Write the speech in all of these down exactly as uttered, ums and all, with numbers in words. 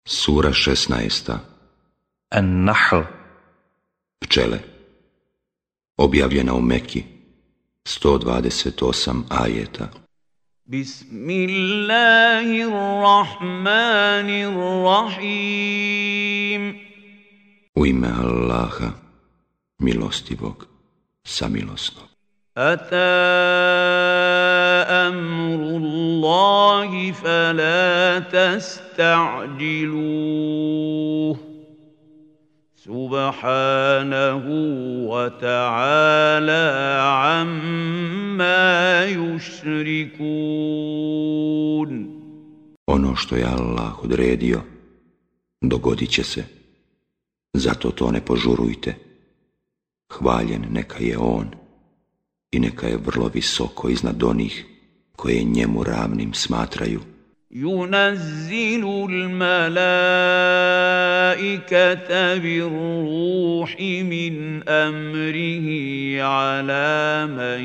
Sura šesnaesta. An-Nahl. Pčele. Objavljena u Meki. sto dvadeset osam ajeta. Bismillahirrahmanirrahim. U ime Allaha, milostivog, samilosnog. Ata amrullahi fala tasta'jiluh. Subhanahu wa ta'ala amma yushrikun. Ono što je Allah odredio, dogodit će se. Zato to ne požurujte. Hvaljen neka je On i neka je vrlo visoko iznad onih koje njemu ravnim smatraju. Yunazzilu al-malaikata bir-ruhi min amrihi ala man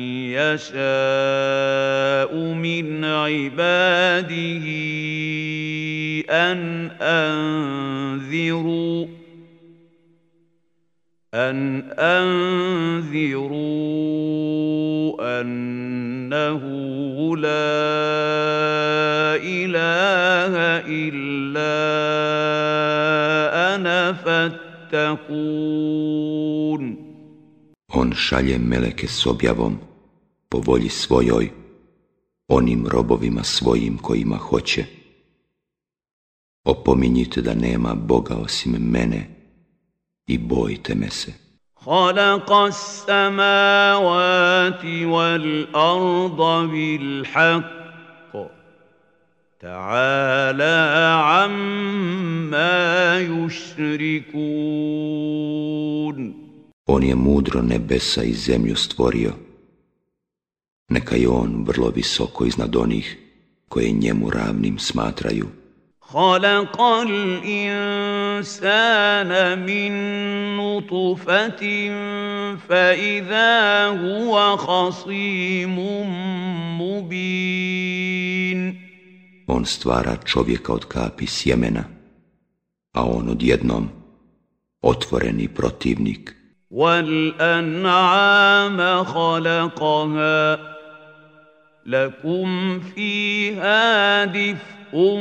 yasha'u min ibadihi an anziru أن أنذروا أنه لا إله إلا أنا فاتقون. On šalje meleke s objavom po volji svojoj onim robovima svojim kojima hoće. Opominjite da nema Boga osim mene i bojte me se. Khalaqa as-samawati wal-arda bil-haqq. Ta'ala amma yushrikun. On je mudro nebesa i zemlju stvorio. Neka je on vrlo visoko iznad onih koje njemu ravnim smatraju. خلق الإنسان من نطفة فإذا هو خصيم مبين. On stvara čovjeka od kapi sjemena, a on odjednom otvoreni protivnik. وَالْأَنْعَامَ خَلَقَهَا لَكُمْ فِيهَا دِفْءٌ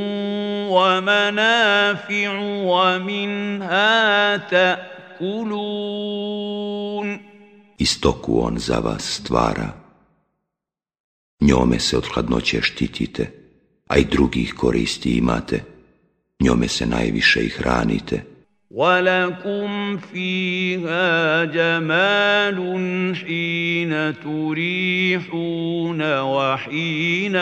وَمَنَافِعُ وَمِنْهَا تَأْكُلُونَ. I stoku on za vas stvara. Njome se od hladnoće štitite, a i drugih koristi imate. Njome se najviše i hranite. وَلَكُمْ فِيهَا جَمَالٌ حِينَ تُرِيحُونَ وَحِينَ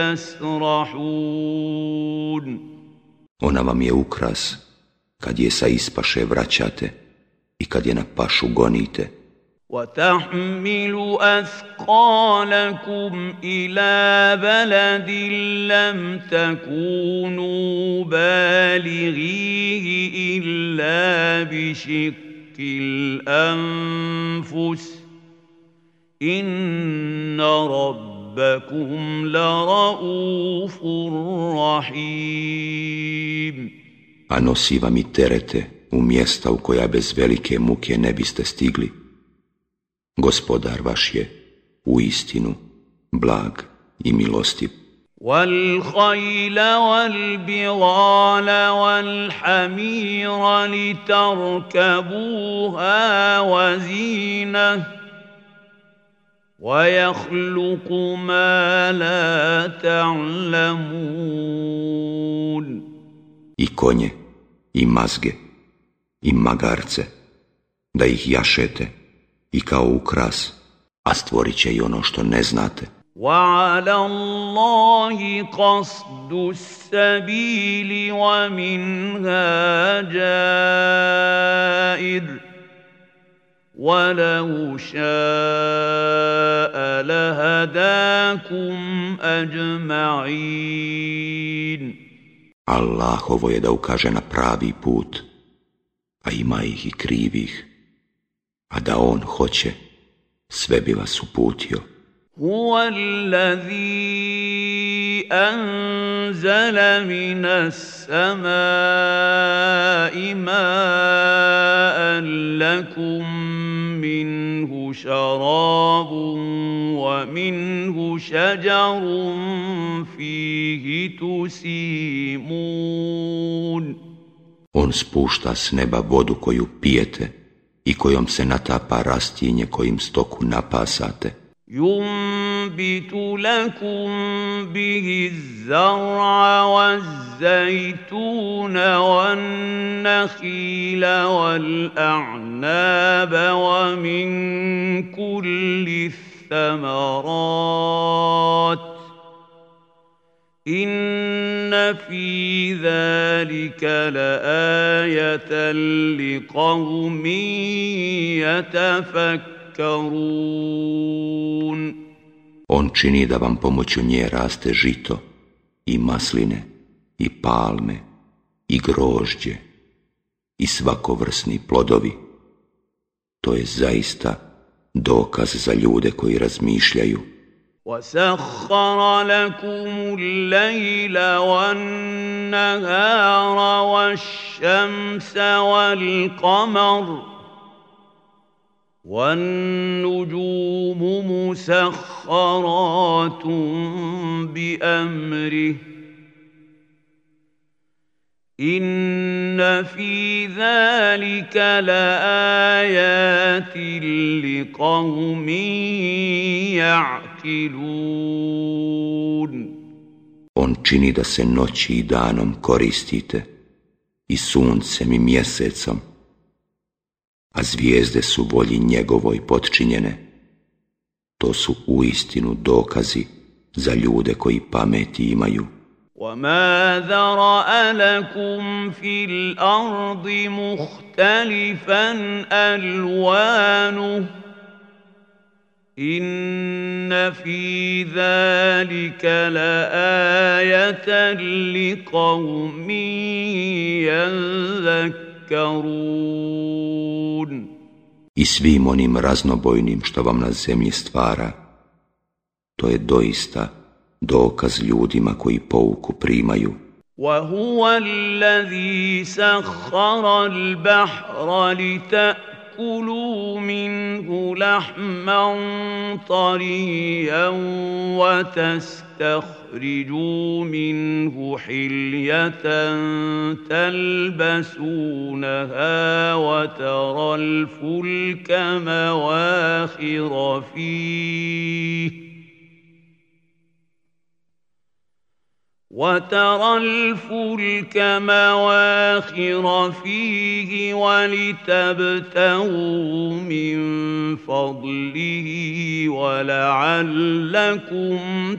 تَسْرَحُونَ. Ona vam je ukras kad je sa ispaše vraćate i kad je na pašu gonite. وَتَحْمِلُ أَثْقَالَكُمْ إِلَى بَلَدٍ لَّمْ تَكُونُوا بَالِغِيهِ إِلَّا بِشِقِّ الْأَنفُسِ إِنَّ رَبَّكُمْ لَرَءُوفٌ رَّحِيمٌ. A nosi vam i terete u mjesta u koja bez velike muke ne biste stigli. Gospodar vaš je u istinu blag i milostiv. وَالْخَيْلَ وَالْبِغَالَ وَالْحَمِيرَ لِتَرْكَبُوهَا وَزِينَةً وَيَخْلُقُ مَا لَا تَعْلَمُونَ. I konje, i mazge, i magarce, da ih jašete i kao ukras, a stvorit će i ono što ne znate. وَعَلَى اللَّهِ قَصْدُ السَّبِيلِ وَمِنْهَا جَائِرٌ وَلَوْ شَاءَ لَهَدَاكُمْ أَجْمَعِينَ. Allahovo je da ukaže na pravi put, a ima ih i krivih. A da on hoće, sve bi vas uputio. هو الذي أنزل من السماء ماء لكم منه شراب ومنه شجر فيه تسيمون. On spušta s neba vodu koju pijete i kojom se natapa rastinje kojim stoku napasate. ينبت لكم به الزرع والزيتون والنخيل والأعناب ومن كل الثمرات إن في ذلك لآية لقوم يتفكرون. On čini da vam pomoću nje raste žito i masline i palme i grožđe i svakovrsni plodovi. To je zaista dokaz za ljude koji razmišljaju. وَسَخَّرَ لَكُمُ اللَّيْلَ وَالنَّهَارَ وَالشَّمْسَ وَالْقَمَرَ وَالنُّجُومُ مُسَخَّرَاتٌ بِأَمْرِهِ إِنَّ فِي ذَلِكَ لَآيَاتٍ لِقَوْمٍ يَعْقِلُونَ. On čini da se noći i danom koristite, i suncem i mjesecom, a zvijezde su volji njegovoj potčinjene. To su uistinu dokazi za ljude koji pameti imaju. وَمَا ذَرَأَ لَكُمْ فِي الْأَرْضِ مُخْتَلِفًا أَلْوَانُهُ إِنَّ فِي ذَلِكَ لَآيَةً لِقَوْمٍ يَذَّكَّرُونَ. I svim onim raznobojnim što vam na zemlji stvara, to je doista dokaz ljudima koji pouku primaju. وَهُوَ الَّذِي سَخَّرَ الْبَحْرَ لِتَأْكُلُوا مِنْهُ لَحْمًا طَرِيًّا وَتَسْتَخْرِجُوا مِنْهُ حِلْيَةً تَلْبَسُونَهَا وَتَرَى الْفُلْكَ مَوَاخِرَ فِيهِ وَتَرَى الْفُلْكَ مَوَاخِرَ فِيهِ وَلِتَبْتَغُوا مِنْ فَضْلِهِ وَلَعَلَّكُمْ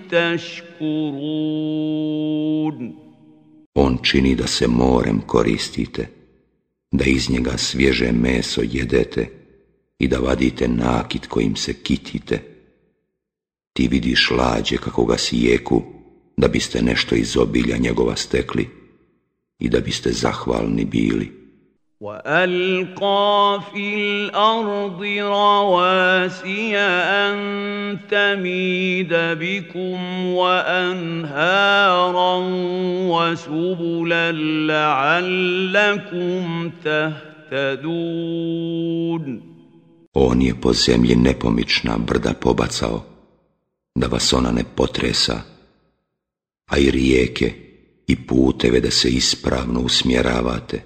تَشْكُرُونَ. On čini da se morem koristite, da iz njega svježe meso jedete i da vadite nakit kojim se kitite. Ti vidiš lađe kako ga sijeku, da biste nešto iz obilja njegova stekli i da biste zahvalni bili. وَأَلْقَى فِي الْأَرْضِ رَوَاسِيَ أَن تَمِيدَ بِكُمْ وَأَنْهَارًا وَسُبُلًا لَعَلَّكُمْ تَهْتَدُونَ. On je po zemlji nepomična brda pobacao, da vas ona ne potresa, a i rijeke i puteve da se ispravno usmjeravate.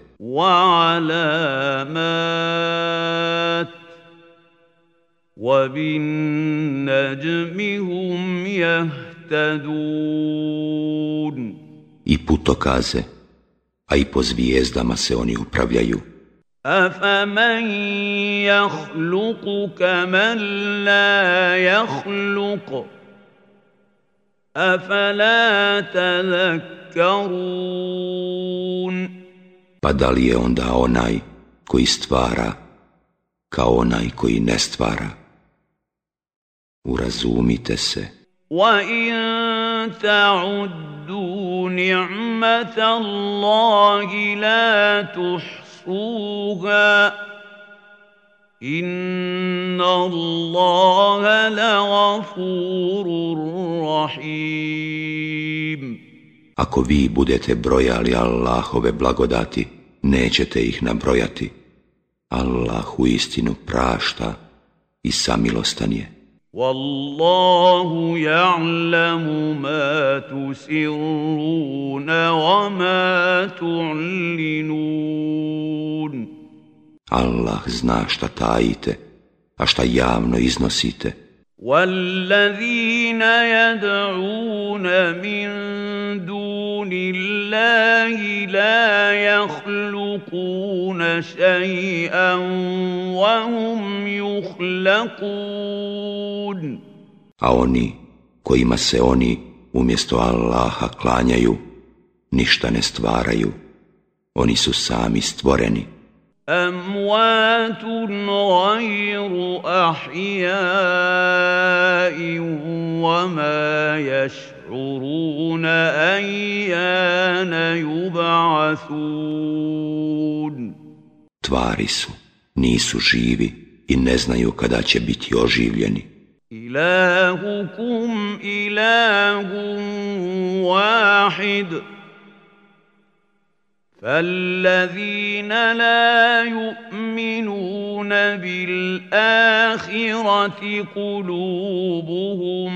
وَعَلَامَاتٍ وَبِالنَّجْمِ هُمْ يَهْتَدُونَ. I putokaze, a i po zvijezdama se oni upravljaju. أَفَمَنْ يَخْلُقُ كَمَنْ لَا يَخْلُقُ أَفَلَا تَذَكَّرُونَ. Pa da li je onda onaj koji stvara kao onaj koji ne stvara? Urazumite se. وَإِن تَعُدُّوا نِعْمَةَ اللَّهِ لَا تُحْصُوهَا إِنَّ اللَّهَ لَغَفُورٌ رَحِيمٌ. Ako vi budete brojali Allahove blagodati, nećete ih nabrojati. Allah uistinu prašta i samilostan je. Wallahu ya'lamu ma tusirruna wa ma tu'linun. Allah zna šta tajite, a šta javno iznosite. وَالَّذِينَ يَدْعُونَ مِن دُونِ اللَّهِ لَا يَخْلُقُونَ شَيْئًا وَهُمْ يُخْلَقُونَ. A oni kojima se oni umjesto Allaha klanjaju, ništa ne stvaraju. Oni su sami stvoreni. أَمْوَاتٌ غَيْرُ أَحْيَاءٍ وَمَا يَشْعُرُونَ أَيَّانَ يُبْعَثُونَ. Tvari su, nisu živi i ne znaju kada će biti oživljeni. إِلَٰهُكُمْ إِلَٰهٌ وَاحِدٌ فَالَّذِينَ لَا يُؤْمِنُونَ بِالْآخِرَةِ قُلُوبُهُم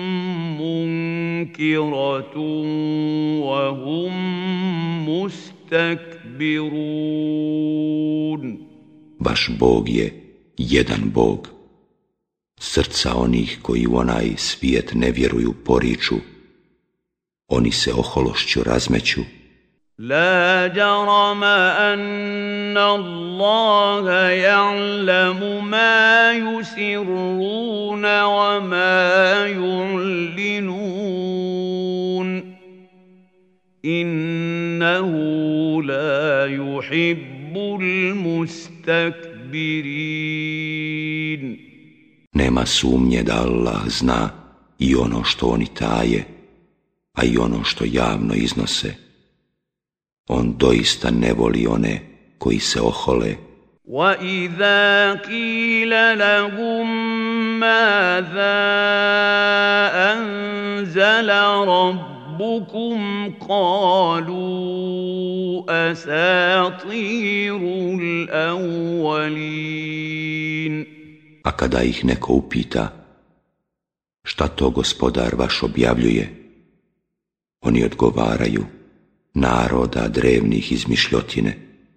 مُّنكِرَةٌ وَهُم مُسْتَكْبِرُونَ. Baš Bog je jedan Bog. Srca onih koji u onaj svijet ne vjeruju poriču, oni se ohološću razmeću. لا جرم أن الله يعلم ما يسرون وما يعلنون إنه لا يحب المستكبرين. Nema sumnje da Allah zna i ono što oni taje, a i ono što javno iznose. On doista ne voli one koji se ohole. وَإِذَا قِيلَ لَهُم مَّاذَا أَنزَلَ رَبُّكُمْ قَالُوا أَسَاطِيرُ الْأَوَّلِينَ. A kada ih neko upita šta to gospodar vaš objavljuje, oni odgovaraju naroda drevnih izmišljotine.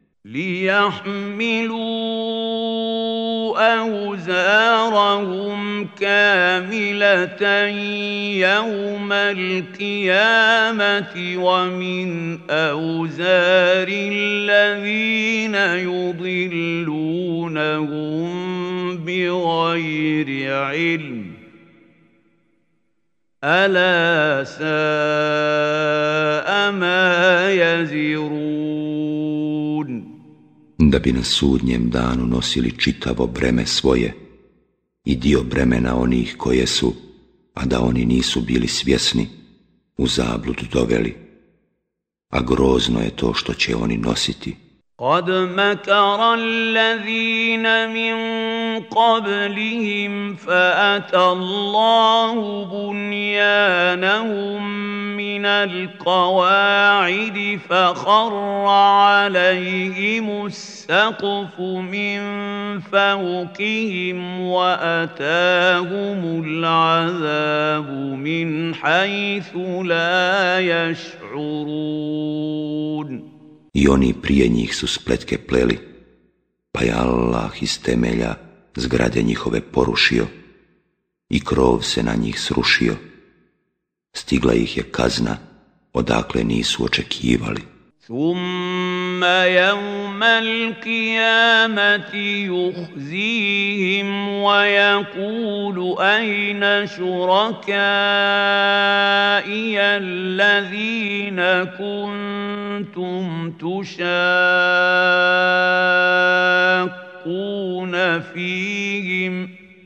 لِيَحْمِلُوا أَوْزَارَهُمْ كَامِلَةً يَوْمَ الْقِيَامَةِ وَمِنْ أَوْزَارِ الَّذِينَ يُضِلُّونَهُم بِغَيْرِ عِلْمٍ أَلَا سَاءَ مَا يَزِرُونَ. Da bi na sudnjem danu nosili čitavo breme svoje i dio bremena onih koje su, a da oni nisu bili svjesni, u zabludu doveli. A grozno je to što će oni nositi. قَدْ مَكَرَ الَّذِينَ مِنْ قَبْلِهِمْ فَأَتَى اللَّهُ بُنْيَانَهُمْ مِنَ الْقَوَاعِدِ فَخَرَّ عَلَيْهِمُ السَّقْفُ مِنْ فَوْقِهِمْ وَأَتَاهُمُ الْعَذَابُ مِنْ حَيْثُ لَا يَشْعُرُونَ. I oni prije njih su spletke pleli, pa je Allah iz temelja zgrade njihove porušio i krov se na njih srušio. Stigla ih je kazna odakle nisu očekivali. ثُمَّ يَوْمَ الْقِيَامَةِ يُخْزِيهِمْ وَيَقُولُ أَيْنَ شُرَكَائِيَ الَّذِينَ كُنتُمْ تُشَاقُّونَ فِيهِمْ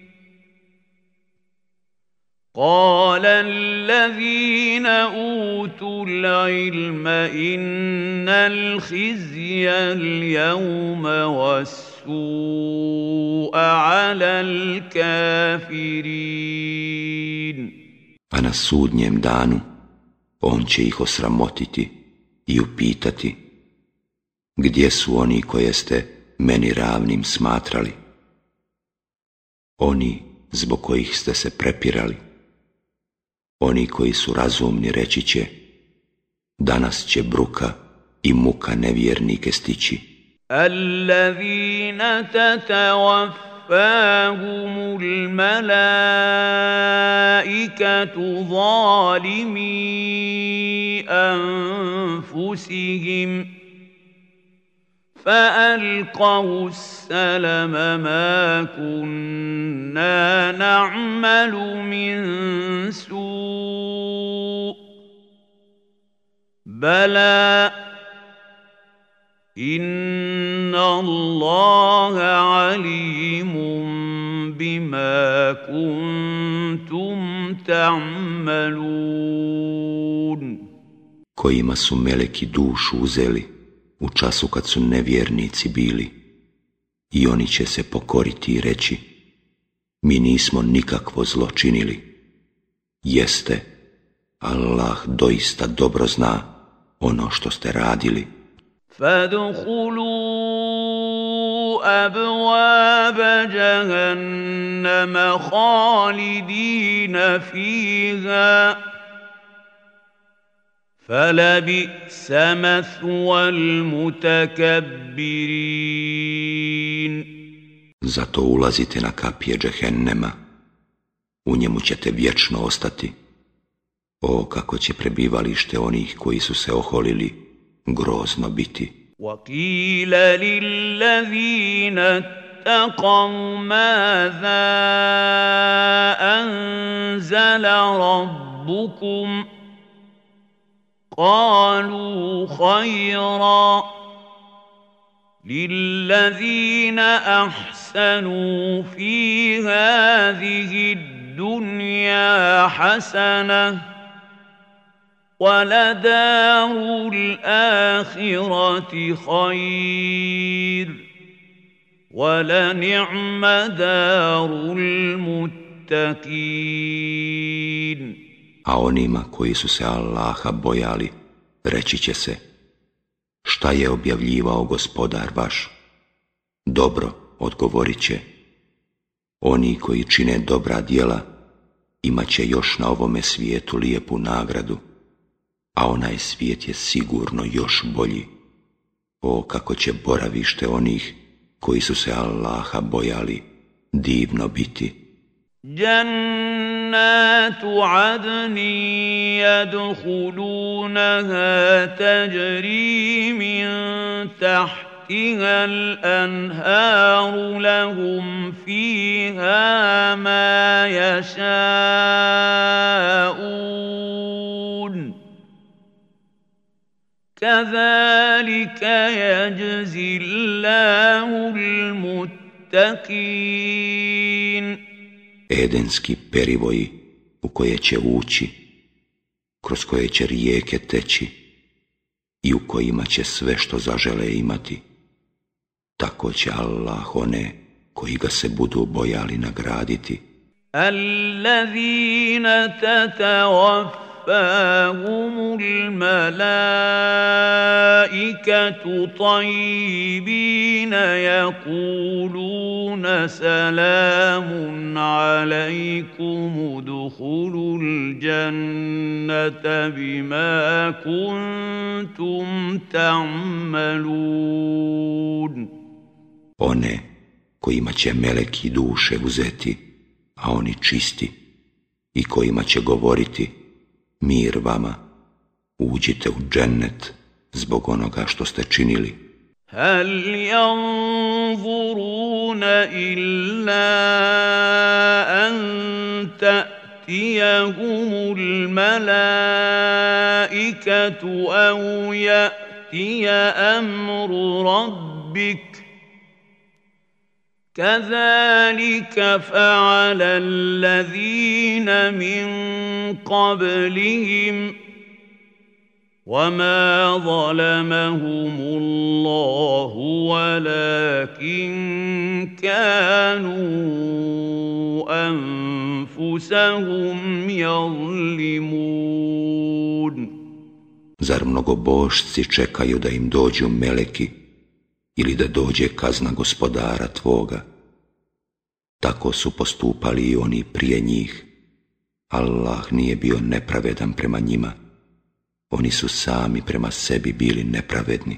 قَالَ الَّذِينَ أُوتُوا الْعِلْمَ إِنَّ الْخِزْيَ الْيَوْمَ وَالسُّوءَ عَلَى الْكَافِرِينَ. A na sudnjem danu On će ih osramotiti i upitati: gdje su oni koje ste meni ravnim smatrali? Oni zbog kojih ste se prepirali. Oni koji su razumni reći će: danas će bruka i muka nevjernike stići. Allazina tatawaffahumul malaikatu zalimi anfusihim فألقوا السلم ما كنا نعمل من سوء بلى إن الله عليم بما كنتم تعملون. Kojima su meleki dušu uzeli u času kad su nevjernici bili, i oni će se pokoriti i reći: mi nismo nikakvo zlo činili. Jeste, Allah doista dobro zna ono što ste radili. Fadkhulu abwaba jahannama khalidina fiha فَلَبِئْسَ مَثْوَى الْمُتَكَبِّرِينَ. Zato ulazite na kapije džehennema, u njemu ćete vječno ostati. O, kako će prebivalište onih koji su se oholili grozno biti. وَقِيلَ لِلَّذِينَ اتَّقَوْا مَاذَا أَنزَلَ رَبُّكُمْ قالوا خيرا للذين أحسنوا في هذه الدنيا حسنة ولدار الآخرة خير ولنعم دار المتقين. A onima koji su se Allaha bojali, reći će se: šta je objavljivao gospodar vaš? Dobro, odgovorit će: oni koji čine dobra djela imat će još na ovome svijetu lijepu nagradu, a onaj svijet je sigurno još bolji. O, kako će boravište onih koji su se Allaha bojali divno biti. جنات عدن يدخلونها تجري من تحتها الأنهار لهم فيها ما يشاءون كذلك يجزي الله المتقين. Edenski perivoji u koje će ući, kroz koje će rijeke teći i u kojima će sve što zažele imati. Tako će Allah one koji ga se budu bojali nagraditi. Allazina tatawaffahumul malaikatu tayyibina yaquluna salamun alaykum udkhulul jannata bima kuntum ta'malun. One kojima će meleki duše uzeti, a oni čisti, i kojima će govoriti: mir vama, uđite u džennet zbog onoga što ste činili. Hal yanzuruna illa an ta'tiyahumul malaikatu aw ya'tiya amru rabbik كذلك فعل الذين من قبلهم وما ظلمهم الله ولكن كانوا أنفسهم يظلمون. Zar mnogobošci čekaju da im dođu meleki ili da dođe kazna gospodara tvoga? Tako su postupali i oni prije njih. Allah nije bio nepravedan prema njima. Oni su sami prema sebi bili nepravedni.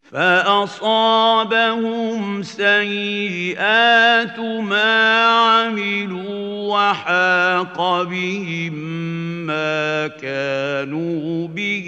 فأصابهم سيئات ما عملوا وحاق بهم ما كانوا به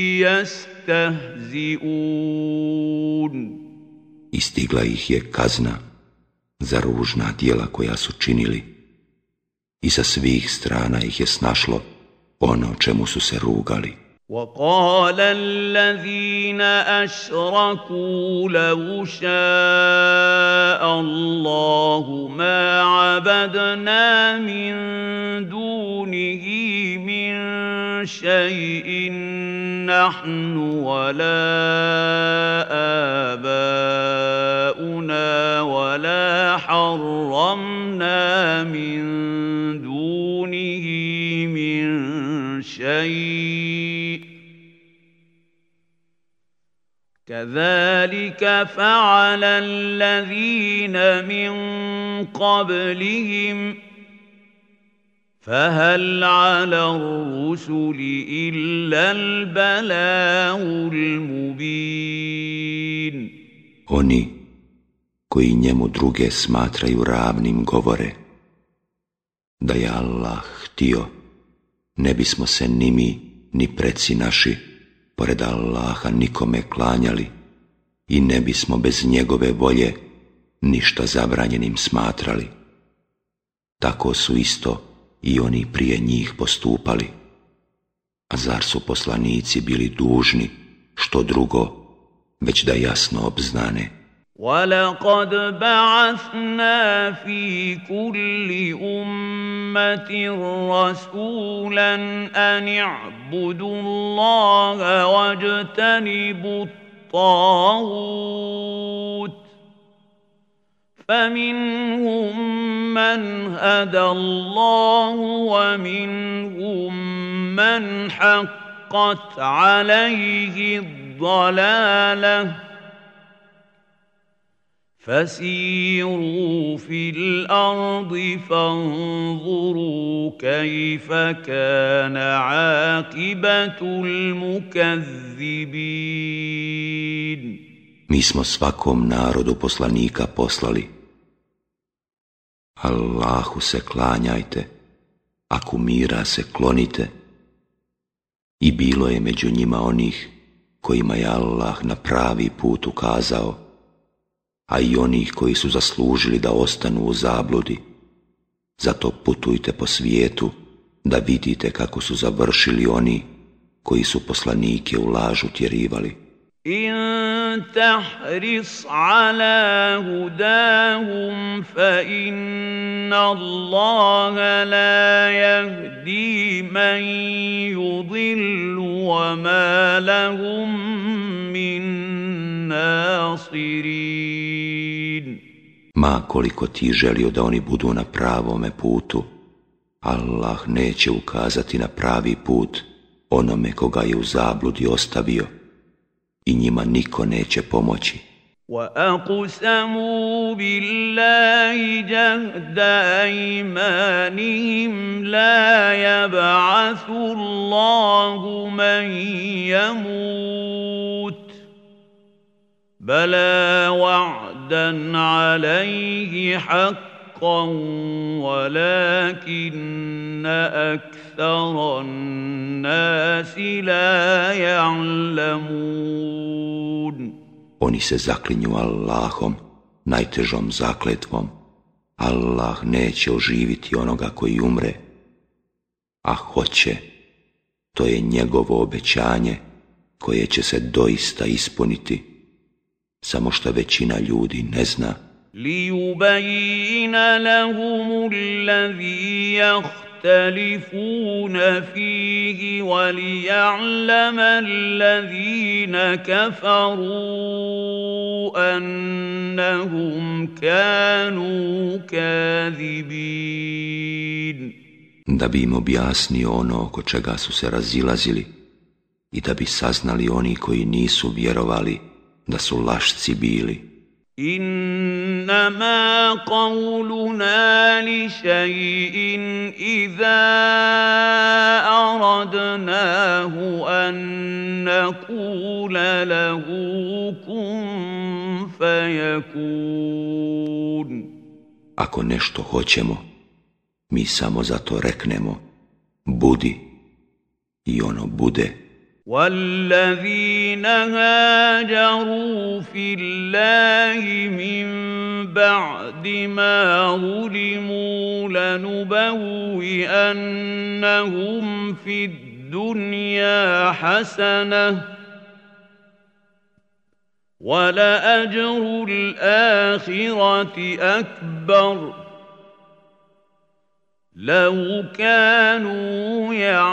يستهزئون. Istigla ih je kazna za ružna djela koja su činili i sa svih strana ih je snašlo ono čemu su se rugali. وقال الذين أشركوا لو شاء الله ما عبدنا من دونه من شيء نحن ولا آباؤنا ولا حرمنا من دونه من شيء كذلك فعل الذين من قبلهم فهل على الرسل إلا البلاغ المبين. Oni koji njemu druge smatraju ravnim govore: da je Allah htio, ne bismo se ni mi ni preci naši pored Allaha nikome klanjali i ne bismo bez njegove volje ništa zabranjenim smatrali. Tako su isto i oni prije njih postupali. A zar su poslanici bili dužni što drugo, već da jasno obznane? وَلَقَدْ بَعَثْنَا فِي كُلِّ أُمَّةٍ رَّسُولًا أَنِ اعْبُدُوا اللَّهَ وَاجْتَنِبُوا الطَّاغُوتَ فَمِنْهُم مَّنْ هَدَى اللَّهُ وَمِنْهُم مَّنْ حَقَّتْ عَلَيْهِ الضَّلَالَةُ فسيروا في الأرض فانظروا كيف كان عاقبة المكذبين. Mi smo svakom narodu poslanika poslali. Allahu se klanjajte, a kumira se klonite. I bilo je među njima onih kojima je Allah na pravi put ukazao, a i onih koji su zaslužili da ostanu u zabludi. Zato putujte po svijetu da vidite kako su završili oni koji su poslanike u laž utjerivali. In tahris ala hudahum fa inna Allaha la yahdi man yudillu wa ma lahum min nasirin. Ma koliko ti želio da oni budu na pravome putu, Allah neće ukazati na pravi put onome koga je u zabludi ostavio i njima niko neće pomoći. وَأَقْسَمُوا بِاللَّهِ جَهْدَ أَيْمَانِهِمْ لَا يَبْعَثُ اللَّهُ مَن يَمُوتُ بَلَى وَعْدًا عَلَيْهِ حَقًّا وَلَكِنَّ أَكْثَرَ النَّاسِ لَا يَعْلَمُونَ. Oni se zaklinju Allahom, najtežom zakletvom. Allah neće oživiti onoga koji umre, a hoće. To je njegovo obećanje koje će se doista ispuniti, samo što većina ljudi ne zna. لِيُبَيِّنَ لَهُمُ الَّذِي يَخْتَلِفُونَ فِيهِ وَلِيَعْلَمَ الَّذِينَ كَفَرُوا أَنَّهُمْ كَانُوا كَاذِبِينَ. Da bi im objasnio ono oko čega su se razilazili i da bi saznali oni koji nisu vjerovali da su lašci bili. إنما قولنا لشيء إذا أردناه أن نقول له كن فيكون. Ako nešto hoćemo, mi samo zato reknemo budi i ono bude. والذين هاجروا في الله من بعد ما ظلموا لنبوئنهم في الدنيا حسنة ولأجر الآخرة أكبر لو كانوا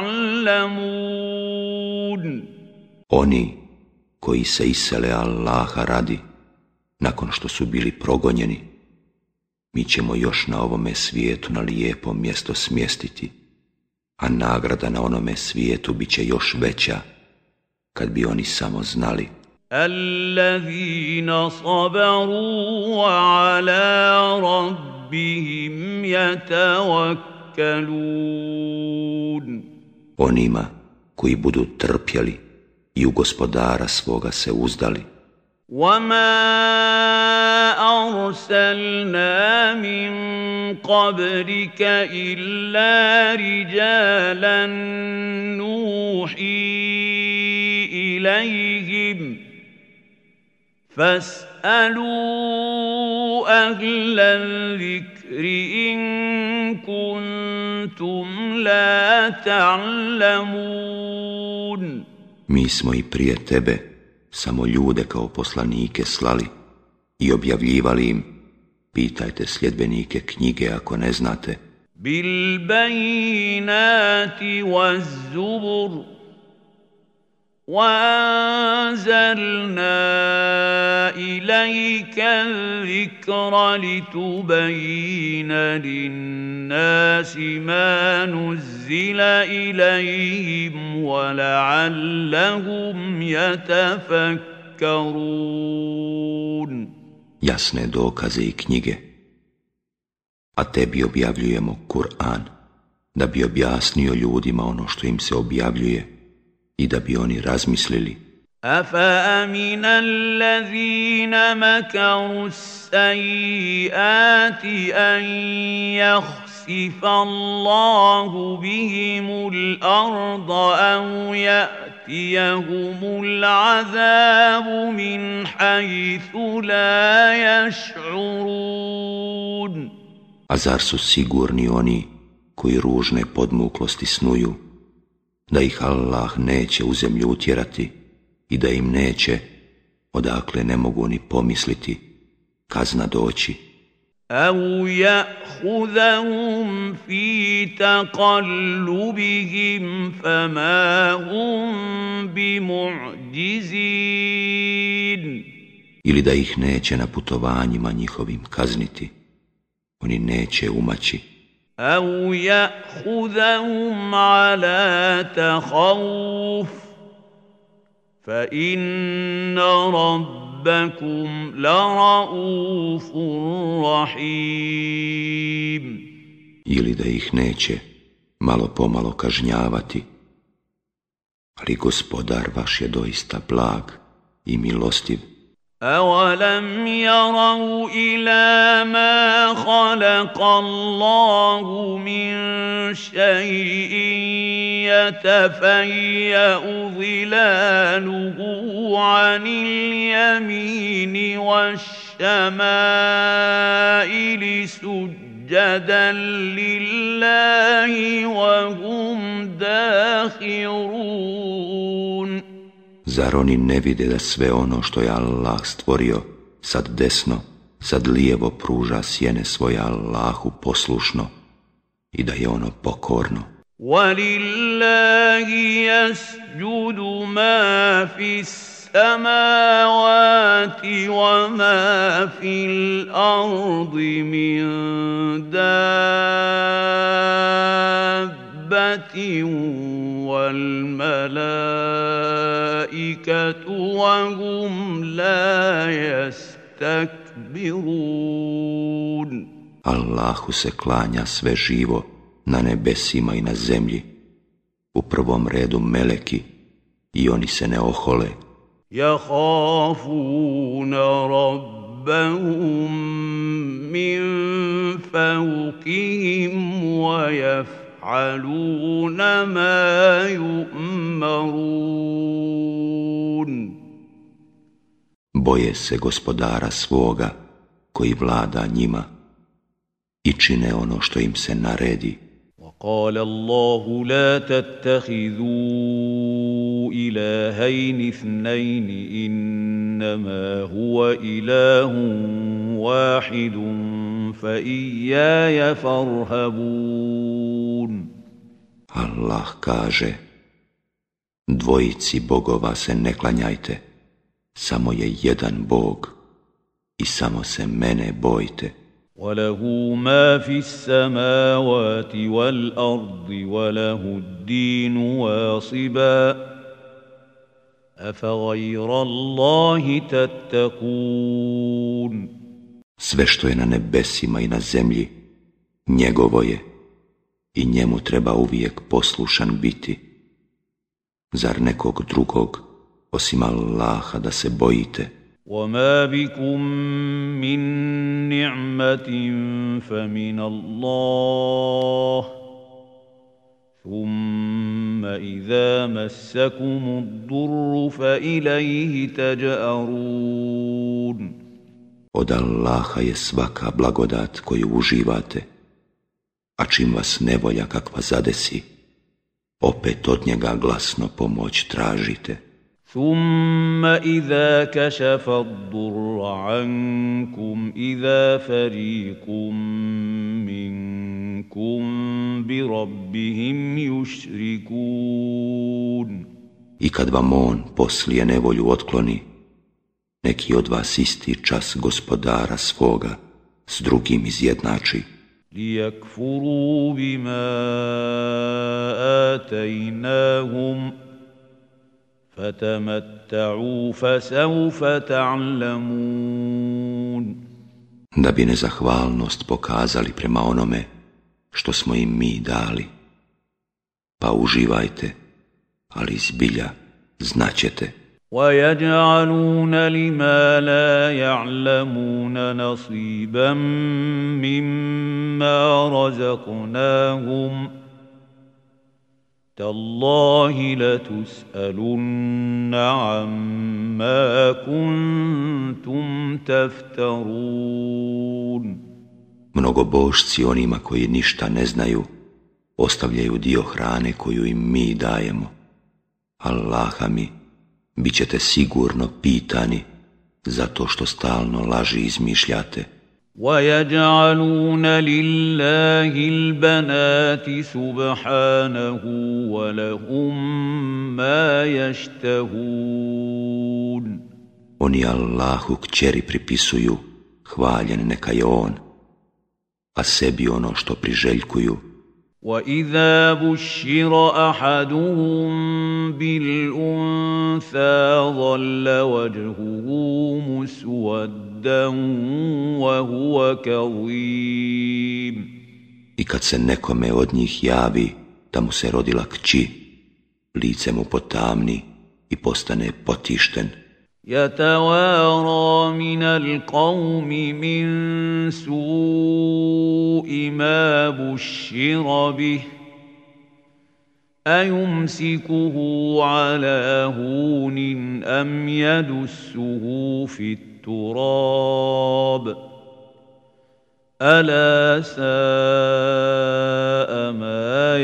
يعلمون. Oni koji se isele Allaha radi, nakon što su bili progonjeni, mi ćemo još na ovome svijetu na lijepo mjesto smjestiti, a nagrada na onome svijetu bit će još veća, kad bi oni samo znali. الذين صبروا وعلى ربهم يتوكلون. Onima koji budu trpjeli i u gospodara svoga se uzdali. وما أرسلنا من قبلك إلا رجالا نوحي إليهم فاسألوا أهل الذكر إن كنتم لا تعلمون. Mi smo i prije tebe samo ljude kao poslanike slali i objavljivali im, pitajte sljedbenike knjige ako ne znate. Bil bajinati waz zubur وأنزلنا إليك الذكر لتبين للناس ما نزل إليهم ولعلهم يتفكرون. Jasne dokaze i knjige, a tebi objavljujemo Kur'an, da bi objasnio ljudima ono što im se objavljuje i da bi oni razmislili. أفأمن الذين مكروا السيئات أن يخسف الله بهم الأرض أو يأتيهم العذاب من حيث لا يشعرون. A zar su sigurni oni koji ružne podmuklosti snuju, da ih Allah neće u zemlju utjerati i da im neće, odakle ne mogu ni pomisliti, kazna doći. أَوْ يَأْخُذَهُمْ فِي تَقَلُّبِهِمْ فَمَا هُمْ بِمُعْجِزِينَ. Ili da ih neće na putovanjima njihovim kazniti, oni neće umaći. أَوْ يَأْخُذَهُمْ عَلَى تَخَوُّفٍ فَإِنَّ رَبَّكُمْ لَرَءُوفٌ رَحِيمٌ. Ili da ih neće malo pomalo kažnjavati, ali gospodar vaš je doista blag i milostiv. أَوَلَمْ يَرَوْا إِلَى مَا خَلَقَ اللَّهُ مِنْ شَيْءٍ يَتَفَيَّأُ ظِلَالُهُ عَنِ الْيَمِينِ وَالشَّمَائِلِ سُجَّدًا لِلَّهِ وَهُمْ دَاخِرُونَ. Zar oni ne vide da sve ono što je Allah stvorio, sad desno, sad lijevo pruža sjene svoje Allahu poslušno i da je ono pokorno? وَلِلَّهِ يَسْجُدُ مَا فِي السَّمَاوَاتِ وَمَا فِي الْأَرْضِ مِنْ دَابَّةٍ وَالْمَلَائِكَةُ الْمَلَائِكَةُ وَهُمْ لَا يَسْتَكْبِرُونَ Allahu se klanja sve živo na nebesima i na zemlji, u prvom redu meleki, i oni se ne ohole. يَخَافُونَ رَبَّهُم مِّن فَوْقِهِمْ وَيَفْعَلُونَ مَا يُؤْمَرُونَ Boje se gospodara svoga koji vlada njima i čine ono što im se naredi. وقال الله لا تتخذوا إلهين اثنين إنما هو إله واحد فإياي فارهبون Allah kaže, dvojici bogova se ne klanjajte, samo je jedan Bog i samo se mene bojte. وله ما في السماوات والأرض وله الدين واصبا أفغير الله تتقون Sve što je na nebesima i na zemlji, njegovo je i njemu treba uvijek poslušan biti. Zar nekog drugog, osim Allaha, da se bojite? وما بكم من نعمة فمن الله ثم إذا مسكم الضر فإليه تجأرون Od Allaha je svaka blagodat koju uživate, a čim vas nevolja kakva zadesi, opet od njega glasno pomoć tražite. ثم إذا كشف الضر عنكم إذا فريق منكم بربهم يشركون I kad vam on poslije nevolju otkloni, neki od vas isti čas gospodara svoga s drugim izjednači. ليكفروا بما آتيناهم فتمتعوا فسوف تعلمون Da bi nezahvalnost pokazali prema onome što smo im mi dali. Pa uživajte, ali zbilja znaćete. وَيَجْعَلُونَ لِمَا لَا يَعْلَمُونَ نَصِيبًا مِّمَّا رَزَقْنَاهُمْ تَاللَّهِ لَتُسْأَلُنَّ عَمَّا كُنتُمْ تَفْتَرُونَ Mnogobožci onima koji ništa ne znaju, ostavljaju dio hrane koju im mi dajemo. Allaha mi, bit ćete sigurno pitani zato što stalno laži izmišljate. وَيَجْعَلُونَ لِلَّهِ الْبَنَاتِ سُبْحَانَهُ وَلَهُم مَّا يَشْتَهُونَ Oni Allahu kćeri pripisuju, hvaljen neka je on, a sebi ono što priželjkuju. وَإِذَا بُشِّرَ أَحَدُهُم بِالْأُنثَىٰ ظَلَّ وَجْهُهُ مُسْوَدًّا وَهُوَ كَظِيمٌ I kad se nekome od njih javi da mu se rodila kći, lice mu potamni i postane potišten. يَتَوَارَىٰ مِنَ الْقَوْمِ مِن سُوءِ مَا بُشِّرَ بِهِ أَيُمْسِكُهُ عَلَىٰ هُونٍ أَمْ يَدُسُّهُ فِي التُّرَابِ أَلَا سَاءَ مَا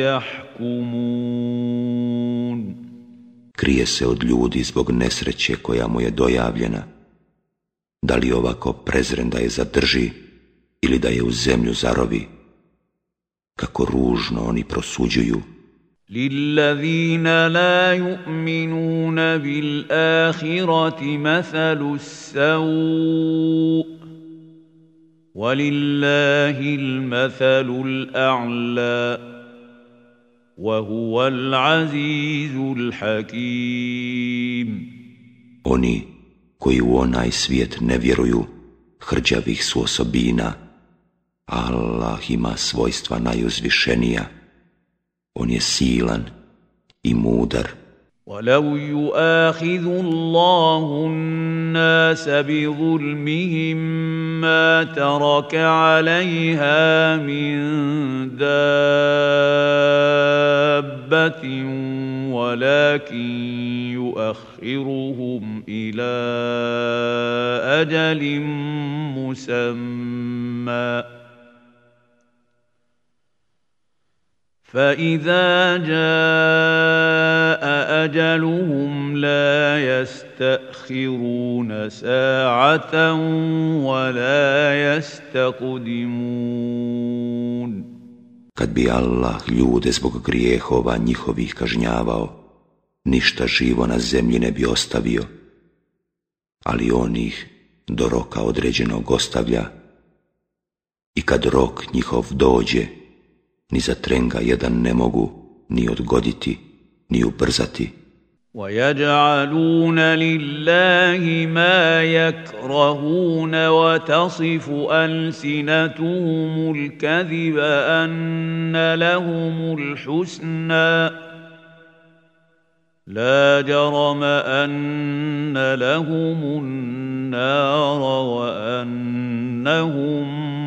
يَحْكُمُونَ Krije se od ljudi zbog nesreće koja mu je dojavljena. Da li ovako prezren da je zadrži ili da je u zemlju zarovi? Kako ružno oni prosuđuju. لِلَّذِينَ لَا يُؤْمِنُونَ بِالْآخِرَةِ مَثَلُ السَّوْءِ وَلِلَّهِ الْمَثَلُ الْأَعْلَى وَهُوَ الْعَزِيزُ الْحَكِيمُ Oni koji u onaj svijet ne vjeruju, hrđavih su osobina, a Allah ima svojstva najuzvišenija. On je silan i mudar. وَلَوْ يُؤَاخِذُ اللَّهُ النَّاسَ بِظُلْمِهِمْ مَا تَرَكَ عَلَيْهَا مِنْ دَابَّةٍ وَلَكِنْ يُؤَخِّرُهُمْ إِلَى أَجَلٍ مُّسَمًّى فَإِذَا جَاءَ أَجَلُهُمْ لَا يَسْتَأْخِرُونَ سَاعَةً وَلَا يَسْتَقْدِمُونَ. Kad bi Allah ljude zbog grijehova njihovih kažnjavao, ništa živo na zemlji ne bi ostavio, ali on ih do roka određenog ostavlja, i kad rok njihov dođe, ni za trenga jedan ne mogu ni odgoditi, ni ubrzati. وَيَجْعَلُونَ لِلَّهِ مَا يَكْرَهُونَ وَتَصِفُ أَلْسِنَتُهُمُ الْكَذِبَ أَنَّ لَهُمُ الْحُسْنَى لَا جَرَمَ أَنَّ لَهُمُ النَّارَ وَأَنَّهُمْ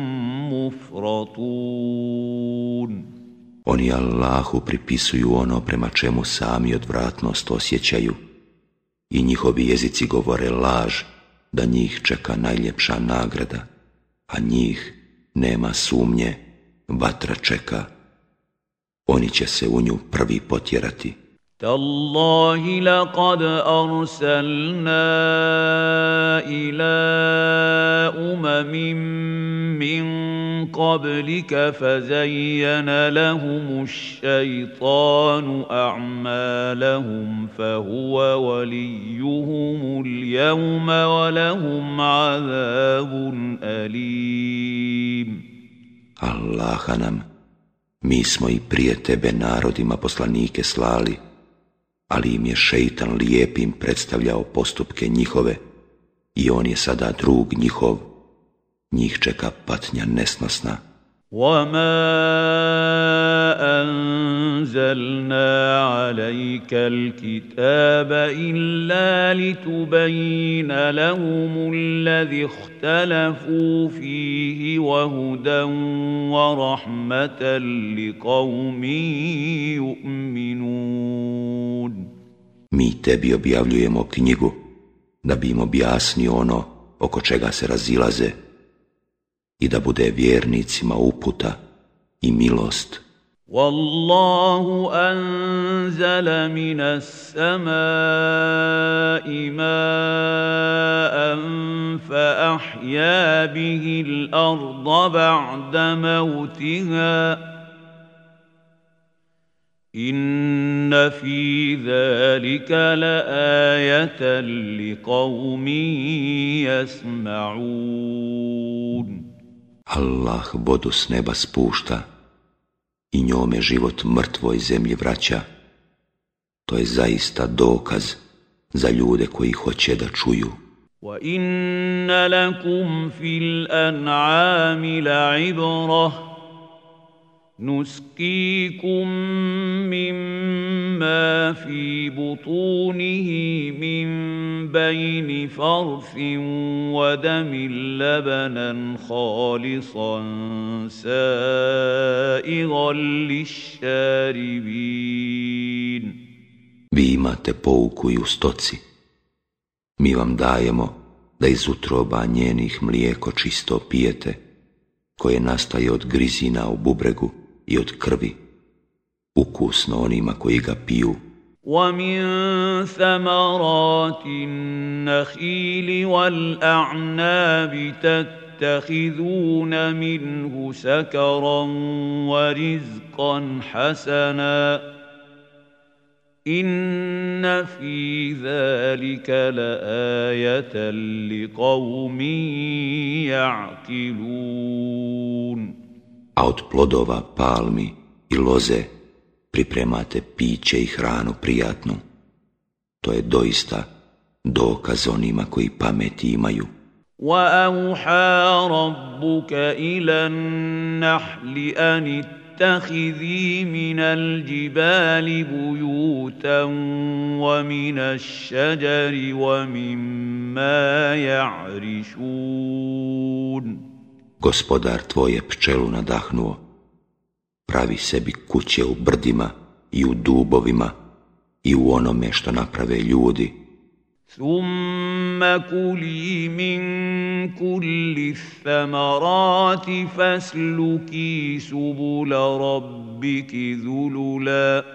مُفْرَطُونَ. Oni Allahu pripisuju ono prema čemu sami odvratnost osjećaju, i njihovi jezici govore laž da njih čeka najljepša nagrada, a njih nema sumnje, vatra čeka. Oni će se u nju prvi potjerati. تَاللَّهِ لَقَدْ أَرْسَلْنَا إِلَىٰ أُمَمٍ مِّن قَبْلِكَ فَزَيَّنَ لَهُمُ الشَّيْطَانُ أَعْمَالَهُمْ فَهُوَ وَلِيُّهُمُ الْيَوْمَ وَلَهُمْ عَذَابٌ أَلِيمٌ. Allaha nam, mi smo i prije tebe narodima poslanike slali, ali im je šeitan lijepim predstavljao postupke njihove, i on je sada drug njihov, njih čeka patnja nesnosna. وَمَا أَنزَلْنَا عَلَيْكَ الْكِتَابَ إِلَّا لِتُبَيِّنَ لَهُمُ الَّذِي اخْتَلَفُوا فِيهِ وَهُدًى وَرَحْمَةً لِقَوْمٍ يُؤْمِنُونَ. Mi tebi objavljujemo knjigu da bi im objasnio ono oko čega se razilaze, i da bude vjernicima uputa i milost. وَاللَّهُ أَنزَلَ مِنَ السَّمَاءِ مَاءً فَأَحْيَا بِهِ الْأَرْضَ بَعْدَ مَوْتِهَا إِنَّ فِي ذَلِكَ لَآيَةً لِقَوْمٍ يَسْمَعُونَ. Allah vodu s neba spušta i njome život mrtvoj zemlji vraća. To je zaista dokaz za ljude koji hoće da čuju. وَإِنَّ لَكُمْ فِي الْأَنْعَامِ لَعِبْرَةً نُسْقِيكُم مِّمَّا فِي بُطُونِهِ مِن بَيْنِ فَرْثٍ وَدَمٍ لَّبَنًا خَالِصًا سَائِغًا لِّلشَّارِبِينَ. Vi imate pouku i u stoci. Mi vam dajemo da iz utroba njenih mlijeko čisto pijete, koje nastaje od grizina u bubregu i od krvi, ukusno onima koji ga piju. وَمِن ثَمَرَاتِ النَّخِيلِ وَالْأَعْنَابِ تَتَّخِذُونَ مِنْهُ سَكَرًا وَرِزْقًا حَسَنًا إِنَّ فِي ذَلِكَ لَآيَةً لِقَوْمٍ يَعْقِلُونَ. A od plodova palmi i loze pripremate piće i hranu prijatnu. To je doista dokaz onima koji pameti imaju. وأوحى ربك إلى النحل أن اتخذي من الجبال بيوتا ومن الشجر ومما يعرشون. Gospodar tvoj je pčelu nadahnuo. Pravi sebi kuće u brdima i u dubovima i u onome što naprave ljudi. ثم كلي من كل الثمرات فاسلكي سبل ربك ذللا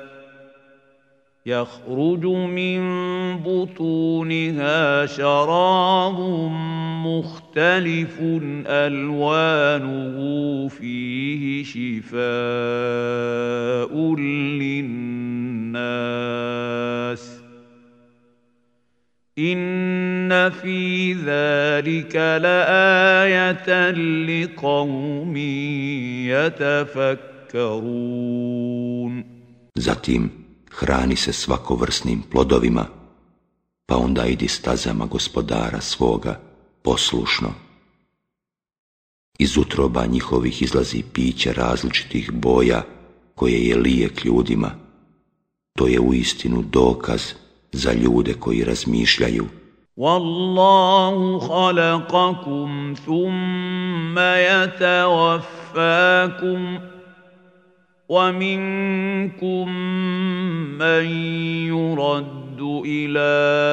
يخرج من بطونها شراب مختلف ألوانه فيه شفاء للناس إن في ذلك لآية لقوم يتفكرون. Zatim hrani se svakovrsnim plodovima, pa onda idi stazama gospodara svoga poslušno. Iz utroba njihovih izlazi piće različitih boja koje je lijek ljudima. To je uistinu dokaz za ljude koji razmišljaju. Wallahu khalaqakum thumma yatawaffakum wa minkum man yuraddu ila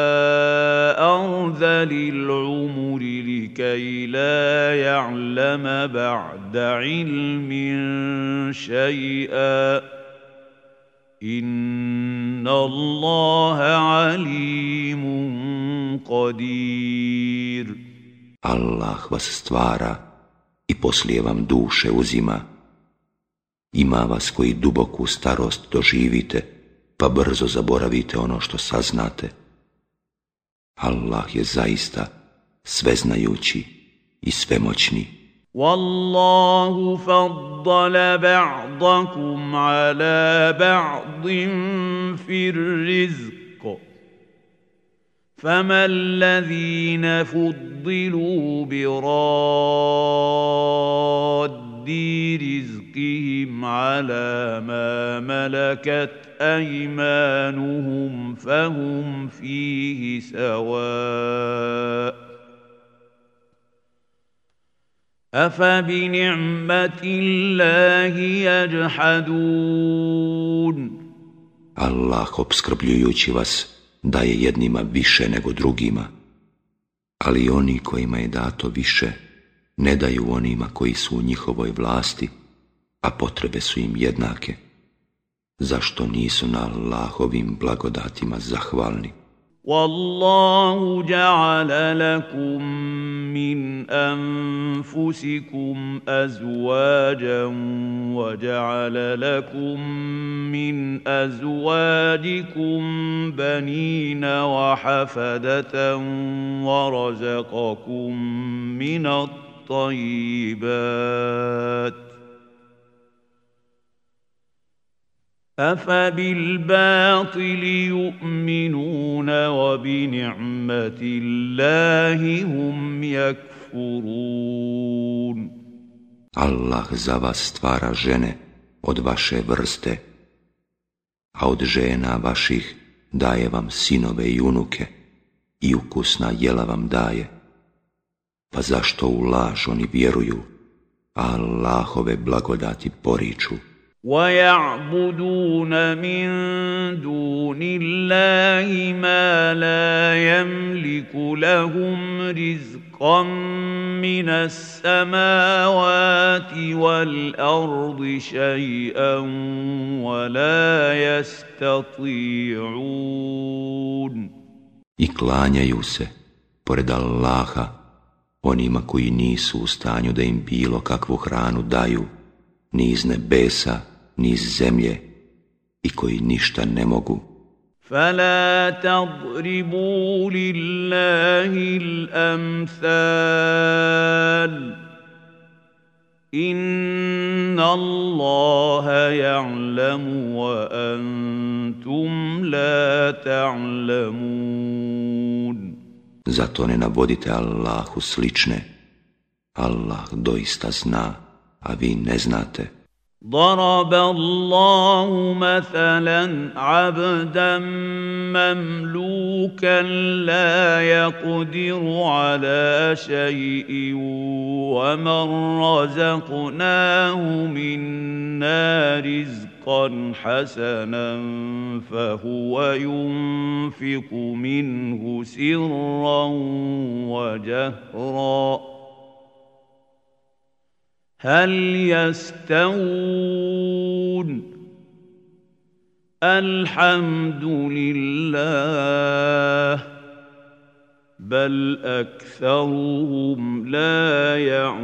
arzalil umri likay la ya'lama ba'da ilmin shay'a Inna Allaha alimun qadir. Allah vas stvara i poslije vam duše uzima. Ima vas koji duboku starost doživite, pa brzo zaboravite ono što saznate. Allah je zaista sveznajući i svemoćni. Wallahu faddala ba'dakum ala ba'din fir rizq. Fama alladhina fuddilu bi raddi rizqihim ala ma malakat aymanuhum fahum fihi sawa'. أَفَبِنِعْمَةِ اللَّهِ يَجْحَدُونَ. Allah opskrbljujući vas daje jednima više nego drugima, ali oni kojima je dato više ne daju onima koji su u njihovoj vlasti, a potrebe su im jednake. Zašto nisu na Allahovim blagodatima zahvalni? Wallahu ja'ala lakum min anfusikum azwajan wa ja'ala lakum min azwajikum banina wa hafadatan wa razaqakum min at-tayyibat. أَفَبِالْبَاطِلِ يُؤْمِنُونَ وَبِنِعْمَةِ اللَّهِ هُمْ يَكْفُرُونَ. Allah za vas stvara žene od vaše vrste, a od žena vaših daje vam sinove i unuke i ukusna jela vam daje. Pa zašto u laž oni vjeruju, a Allahove blagodati poriču? وَيَعْبُدُونَ مِن دُونِ اللَّهِ مَا لَا يَمْلِكُ لَهُمْ رِزْقًا مِّنَ السَّمَاوَاتِ وَالْأَرْضِ شَيْئًا وَلَا يَسْتَطِيعُونَ. I klanjaju se, pored Allaha, onima koji nisu u stanju da im bilo kakvu hranu daju, ni iz nebesa, ni iz zemlje, i koji ništa ne mogu. فَلَا تَضْرِبُوا لِلَّهِ الْأَمْثَالَ إِنَّ اللَّهَ يَعْلَمُ وَأَنْتُمْ لَا تَعْلَمُونَ. Zato ne navodite Allahu slične. Allah doista zna, a vi ne znate. ضرب الله مثلا عبدا مملوكا لا يقدر على شيء ومن رزقناه منا رزقا حسنا فهو ينفق منه سرا وجهرا هل يستوون الحمد لله بل أكثرهم لا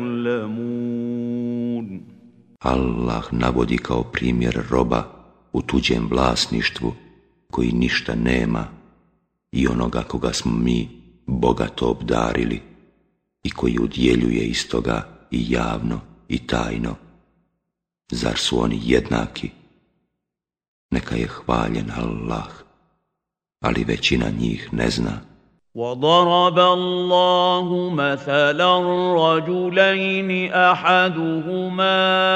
يعلمون. Allah navodi kao primjer roba u tuđem vlasništvu koji ništa nema i onoga koga smo mi bogato obdarili i koji udjeljuje iz toga i javno i tajno. Zar su oni jednaki? Neka je hvaljen Allah, ali većina njih ne zna. وضرب الله مثلا رجلين أحدهما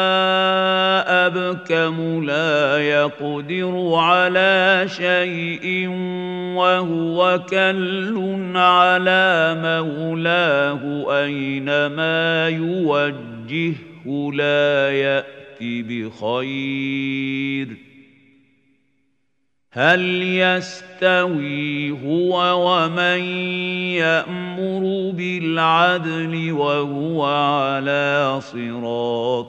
أبكم لا يقدر على شيء وهو كل على مولاه أينما يوجهه لا يأتي بخير هل يستوي هو ومن يأمر بالعدل وهو على صراط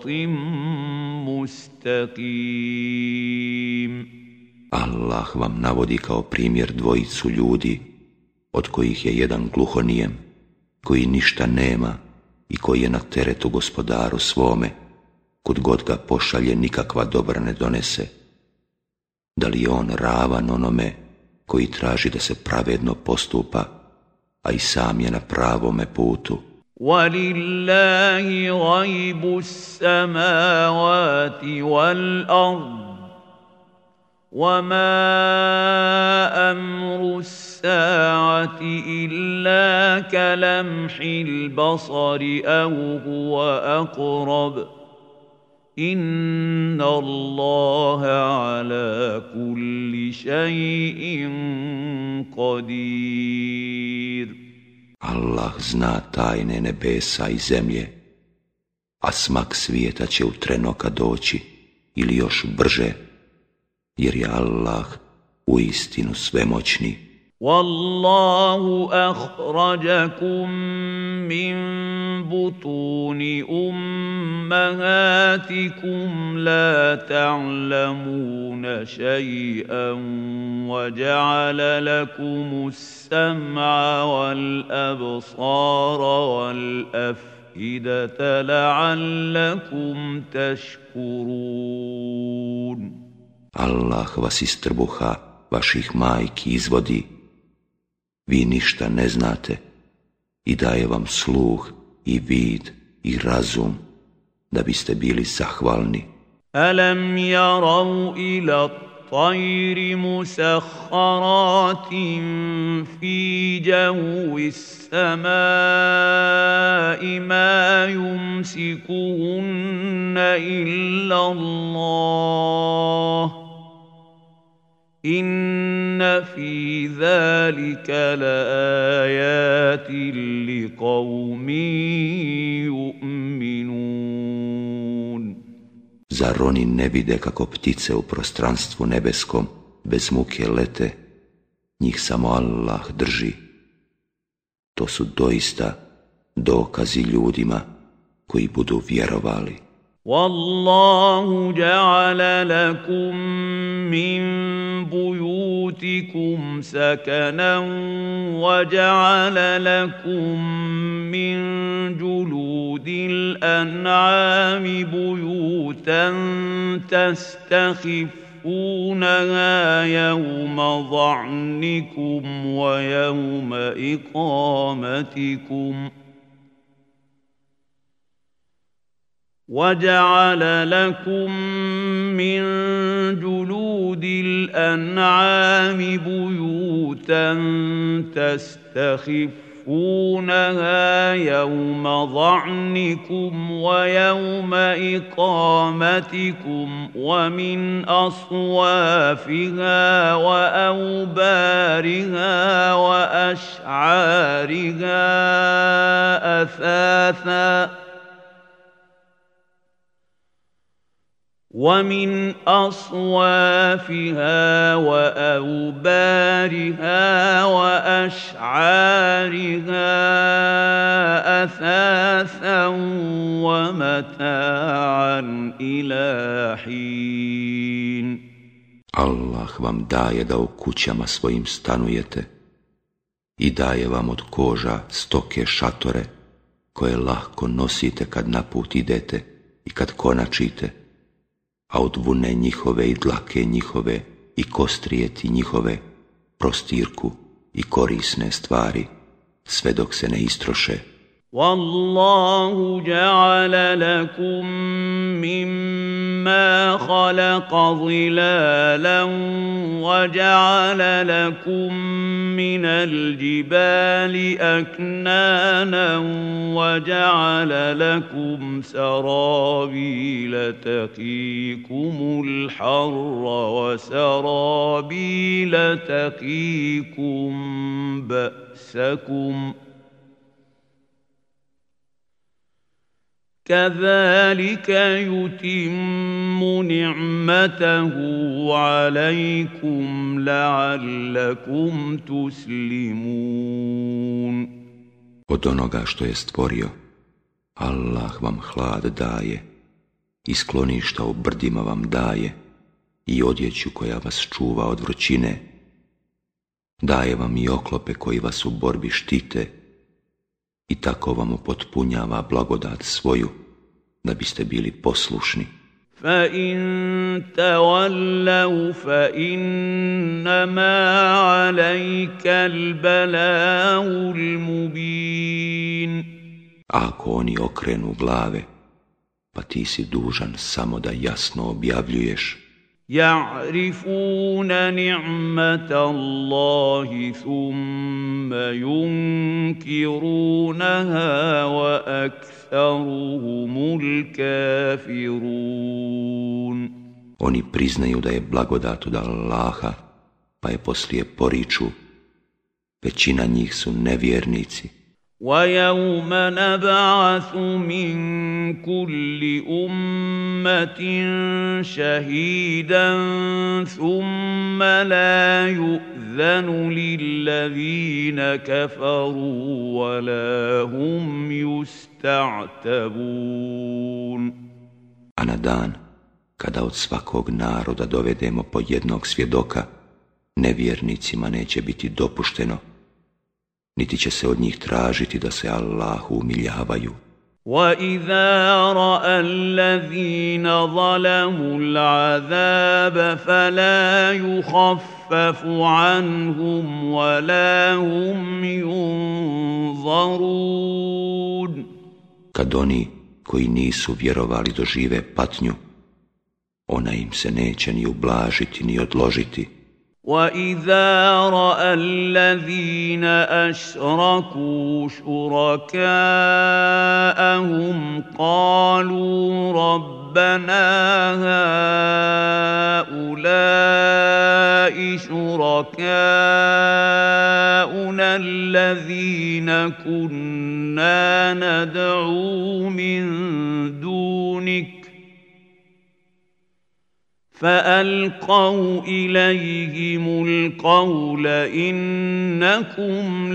مستقيم. Allah vam navodi kao primjer dvojicu ljudi, od kojih je jedan gluhonijem, koji ništa nema i koji je na teretu gospodaru svome, kud god ga pošalje nikakva dobra ne donese. Da li je on ravan onome koji traži da se pravedno postupa, a i sam je na pravome putu? وَلِلَّهِ غَيْبُ السَّمَاوَاتِ وَالْأَرْضِ وَمَا أَمْرُ السَّاعَةِ إِلَّا كَلَمْحِ الْبَصَرِ أَوْ هُوَ أَقْرَبُ إِنَّ اللَّهَ عَلَى كُلِّ شَيْءٍ قَدِيرٌ. Allah zna tajne nebesa i zemlje, a smak svijeta će u tren oka doći ili još brže, jer je Allah uistinu svemoćni. وَاللَّهُ أَخْرَجَكُم مِّن بُطُونِ أُمَّهَاتِكُمْ لَا تَعْلَمُونَ شَيْئًا وَجَعَلَ لَكُمُ السَّمْعَ وَالْأَبْصَارَ وَالْأَفْئِدَةَ لَعَلَّكُمْ تَشْكُرُونَ. Allah vas iz trbuha vaših majki izvodi, vi ništa ne znate i daje vam sluh i vid i razum da biste bili zahvalni. أَلَمْ يَرَوْا إِلَى الطَّيْرِ مُسَخَّرَاتٍ فِي جَوِّ السَّمَاءِ مَا يُمْسِكُهُنَّ إِلَّا اللَّهُ إِنَّ فِي ذَلِكَ لَآيَاتٍ لِقَوْمٍ يُؤْمِنُونَ. Zar oni ne vide kako ptice u prostranstvu nebeskom bez muke lete, njih samo Allah drži? To su doista dokazi ljudima koji budu vjerovali. وَاللَّهُ جَعَلَ لَكُم مِّن بُيُوتِكُمْ سَكَنًا وَجَعَلَ لَكُم مِّن جُلُودِ الْأَنْعَامِ بُيُوتًا تَسْتَخِفُّونَهَا يَوْمَ ظَعْنِكُمْ وَيَوْمَ إِقَامَتِكُمْ وَجَعَلَ لَكُم مِّن جُلُودِ الْأَنْعَامِ بُيُوتًا تَسْتَخِفُّونَهَا تخفونها يوم ظعنكم ويوم إقامتكم ومن أصوافها وأوبارها وأشعارها أثاثا ومن أصوافها وأوبارها وأشعارها أثاثا ومتاعا إلى حين. Allah vam daje da u kućama svojim stanujete i daje vam od koža stoke šatore koje lahko nosite kad na put idete i kad konačite, a od vune njihove i dlake njihove i kostrijeti njihove, prostirku i korisne stvari, sve dok se ne istroše. Wallahu ja'ala lakum mimma khalaqa zilalan wa ja'ala lakum minal jibali aknanan wa ja'ala lakum sarabila taqikumul harra wa sarabila taqikum ba'sakum كذلك يتم نعمته عليكم لعلكم تسلمون. Od onoga što je stvorio, Allah vam hlad daje, i skloništa u brdima vam daje, i odjeću koja vas čuva od vrućine. Daje vam i oklope koji vas u borbi štite, i tako vam upotpunjava blagodat svoju, da biste bili poslušni. فَإِن تَوَلَّوْا فَإِنَّمَا عَلَيْكَ الْبَلَاغُ الْمُبِينُ. Ako oni okrenu glave, pa ti si dužan samo da jasno objavljuješ. يعرفون نعمة الله ثم ينكرونها وأكثرهم الكافرون. Oni priznaju da je blagodat od Allaha, pa je poslije poriču. Većina njih su nevjernici. وَيَوْمَ نَبْعَثُ مِنْ كُلِّ أُمَّةٍ شَهِيدًا ثُمَّ لَا يُؤْذَنُ لِلَّذِينَ كَفَرُوا وَلَا هُمْ يُسْتَعْتَبُونَ. A na dan, kada od svakog naroda dovedemo po jednog svjedoka, nevjernicima neće biti dopušteno, niti će se od njih tražiti da se Allahu umiljavaju. وَإِذَا رَأَى الَّذِينَ ظَلَمُوا الْعَذَابَ فَلَا يُخَفَّفُ عَنْهُمْ وَلَا هُمْ يُنظَرُونَ. Kad oni koji nisu vjerovali dožive patnju, ona im se neće ni ublažiti ni odložiti. وَإِذَا رَأَى الَّذِينَ أَشْرَكُوا شُرَكَاءَهُمْ قَالُوا رَبَّنَا هَؤُلَاءِ شُرَكَاؤُنَا الَّذِينَ كُنَّا نَدْعُو مِن دُونِكَ فَأَلْقَوْا إِلَيْهِمُ الْقَوْلَ إِنَّكُمْ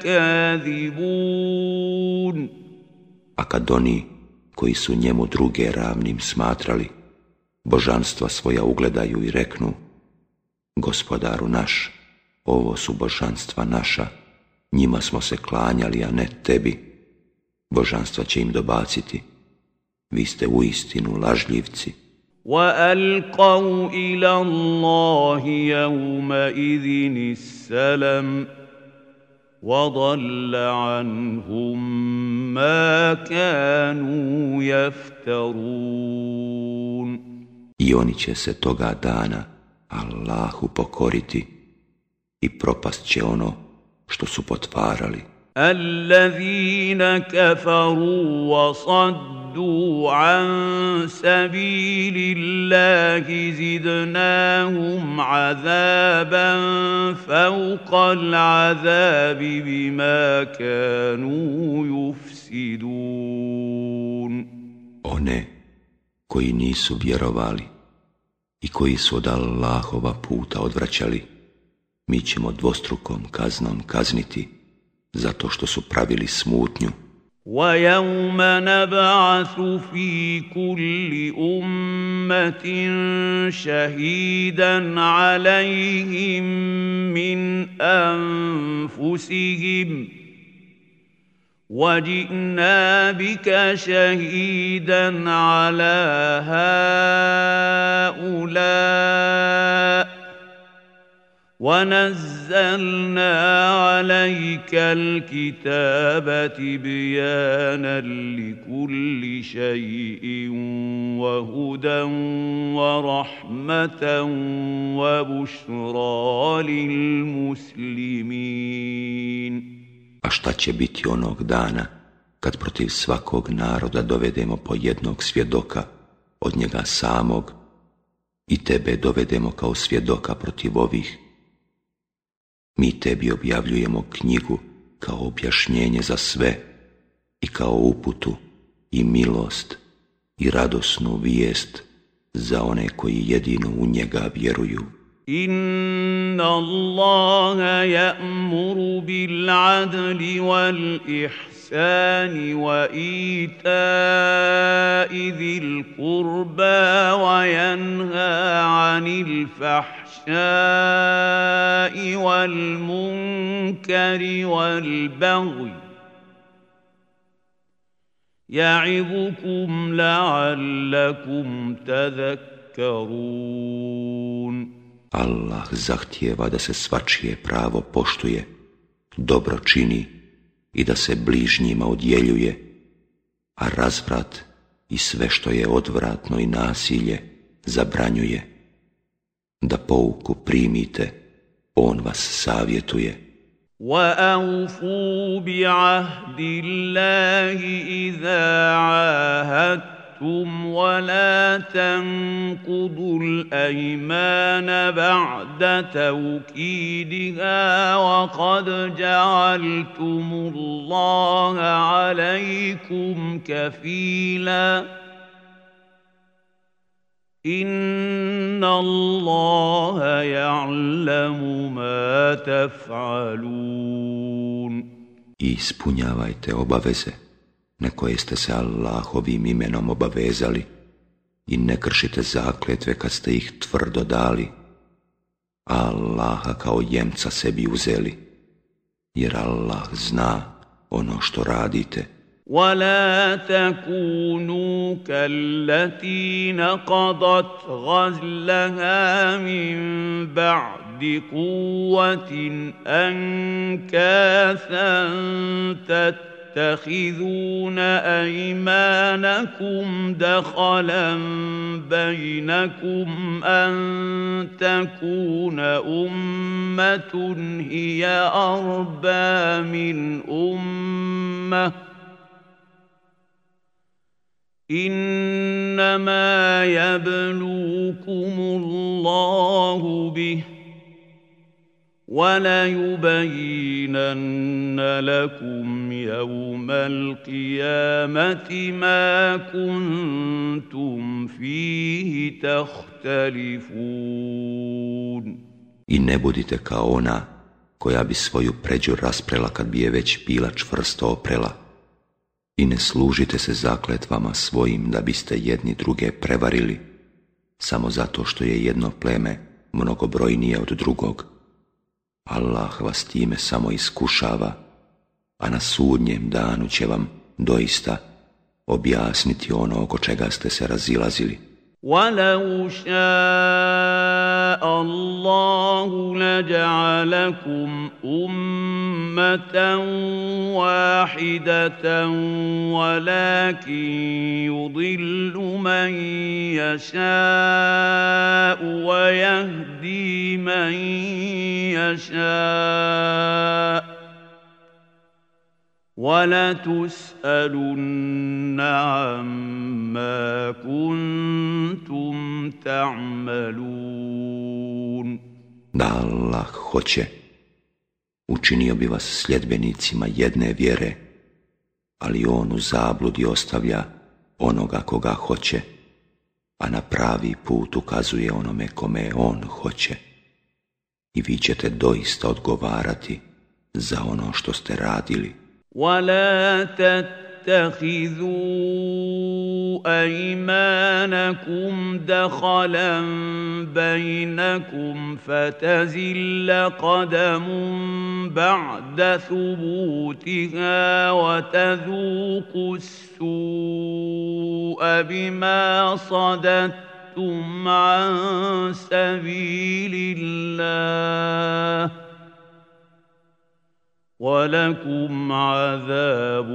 لَكَاذِبُونَ. A kad oni koji su njemu druge ravnim smatrali, božanstva svoja ugledaju i reknu: Gospodaru naš, ovo su božanstva naša, njima smo se klanjali, a ne tebi. Božanstva će im dobaciti: vi ste uistinu lažljivci. وَأَلْقَوْا إِلَى اللَّهِ يَوْمَئِذٍ السَّلَمَ وَضَلَّ عَنْهُمْ مَا كَانُوا يَفْتَرُونَ. I oni će se toga dana Allahu pokoriti i propast će ono što su potvarali. الذين كفروا وصدوا عن سبيل الله زدناهم عذابا فوق العذاب بما كانوا يفسدون. One koji nisu vjerovali i koji su od Allahova puta odvraćali, mi ćemo dvostrukom kaznom kazniti zato što su pravili smutnju. وَيَوْمَ نَبْعَثُ فِي كُلِّ أُمَّةٍ شَهِيدًا عَلَيْهِمْ مِنْ أَنْفُسِهِمْ وَجِئْنَا بِكَ شَهِيدًا عَلَى هَؤُلَاءِ وَنَزَّلْنَا عَلَيْكَ الْكِتَابَ تِبْيَانًا لِكُلِّ شَيْءٍ وَهُدًى وَرَحْمَةً وَبُشْرَى لِلْمُسْلِمِينَ. A šta će biti onog dana kad protiv svakog naroda dovedemo po jednog svjedoka od njega samog i tebe dovedemo kao svjedoka protiv ovih? Mi tebi objavljujemo knjigu kao objašnjenje za sve i kao uputu i milost i radosnu vijest za one koji jedino u njega vjeruju. Inna Allaha ya'muru bil adli wal ihsani wa ita'i dhil qurba wa yanha 'anil fahsha'i wal munkari wal baghi ya'idukum la'allakum tadhakkarun. Allah zahtijeva da se svačije pravo poštuje, dobro čini i da se bližnjima odjeljuje, a razvrat i sve što je odvratno i nasilje zabranjuje. Da pouku primite, on vas savjetuje. وَأَوْفُوا بِعَهْدِ اللَّهِ إِذَا عَاهَدتُّمْ ولا تنقضوا الأيمان بعد توكيدها وقد جعلتم الله عليكم كفيلا إن الله يعلم ما تفعلون. I ispunjavajte obaveze na koje ste se Allahovim imenom obavezali i ne kršite zakletve kad ste ih tvrdo dali, a Allaha kao jemca sebi uzeli, jer Allah zna ono što radite. وَلَا تَكُونُوا كَالَّتِي نَقَضَتْ غَزْلَهَا مِنْ بَعْدِ قُوَّةٍ أَنْكَاثًا تَتَّخِذُونَ أَيْمَانَكُمْ دَخَلًا بَيْنَكُمْ أَنْ تَكُونَ أُمَّةٌ هِيَ أَرْبَى مِنْ أُمَّةٍ إنما يبلوكم الله به وليبينن لكم يوم القيامة ما كنتم فيه تختلفون. I ne budite kao ona koja bi svoju pređu rasprela kad bi je već bila čvrsto oprela. I ne služite se zakletvama svojim da biste jedni druge prevarili, samo zato što je jedno pleme mnogobrojnije od drugog. Allah vas time samo iskušava, a na sudnjem danu će vam doista objasniti ono oko čega ste se razilazili. وَلَوْ شَاءَ اللَّهُ لَجَعَلَكُمْ أُمَّةً وَاحِدَةً وَلَكِنْ يُضِلُّ مَنْ يَشَاءُ وَيَهْدِي مَنْ يَشَاءُ. من يشاء ويهدي من يشاء. إنه على كل شيء قدير. I وَلَتُسْأَلُنَّ عَمَّا كُنتُمْ تَعْمَلُونَ. Da Allah hoće, učinio bi vas sljedbenicima jedne vjere, ali on u zabludi ostavlja onoga koga hoće, a na pravi put ukazuje onome kome on hoće. I vi ćete doista odgovarati za ono što ste radili. وَلَا تَتَّخِذُوا أَيْمَانَكُمْ دَخَلًا بَيْنَكُمْ فَتَزِلَّ قَدَمٌ بَعْدَ ثُبُوتِهَا وَتَذُوقُوا السُّوءَ بِمَا صَدَدتُّمْ عَن سَبِيلِ اللَّهِ وَلَكُمْ عَذَابٌ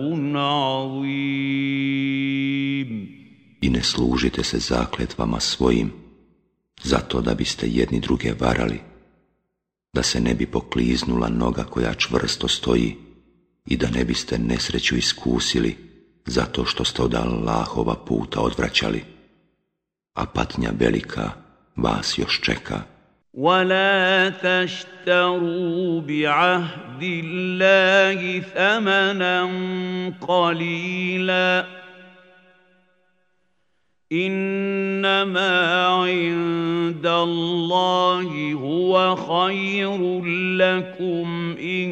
عَظِيمٌ. I ne služite se zakletvama svojim, zato da biste jedni druge varali, da se ne bi pokliznula noga koja čvrsto stoji i da ne biste nesreću iskusili zato što ste od Allahova puta odvraćali, a patnja velika vas još čeka. وَلَا تَشْتَرُوا بِعَهْدِ اللَّهِ ثَمَنًا قَلِيلًا إِنَّمَا عِندَ اللَّهِ هُوَ خَيْرٌ لَكُمْ إِن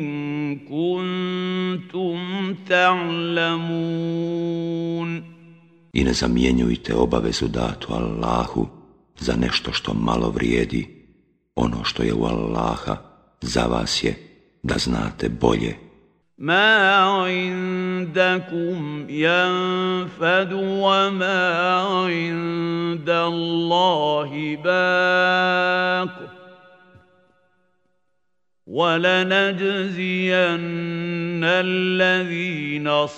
كُنتُمْ تَعْلَمُونَ. I ne zamjenjujte obavezu datu Allahu za nešto što malo vrijedi. Ono što je u Allaha za vas je da znate bolje. مَا عِندَكُمْ يَنفَدُ وَمَا عِندَ اللَّهِ بَاقٍ وَلَنَجْزِيَنَّ الَّذِينَ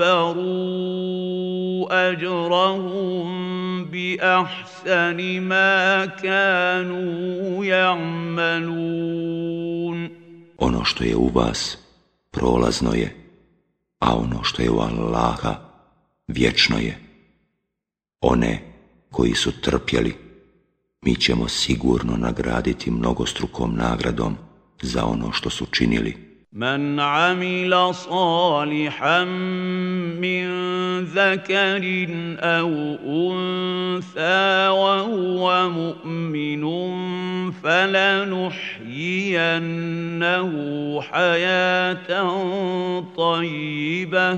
صَبَرُوا أَجْرَهُم بِأَحْسَنِ مَا كَانُوا يَعْمَلُونَ. Ono što je u vas prolazno je, a ono što je u Allaha vječno je. One koji su trpjeli, mi ćemo sigurno nagraditi mnogostrukom nagradom za ono što su činili. مَنْ عَمِلَ صَالِحًا مِّن ذَكَرٍ أَوْ أُنثَىٰ وَهُوَ مُؤْمِنٌ فَلَنُحْيِيَنَّهُ حَيَاةً طَيِّبَةً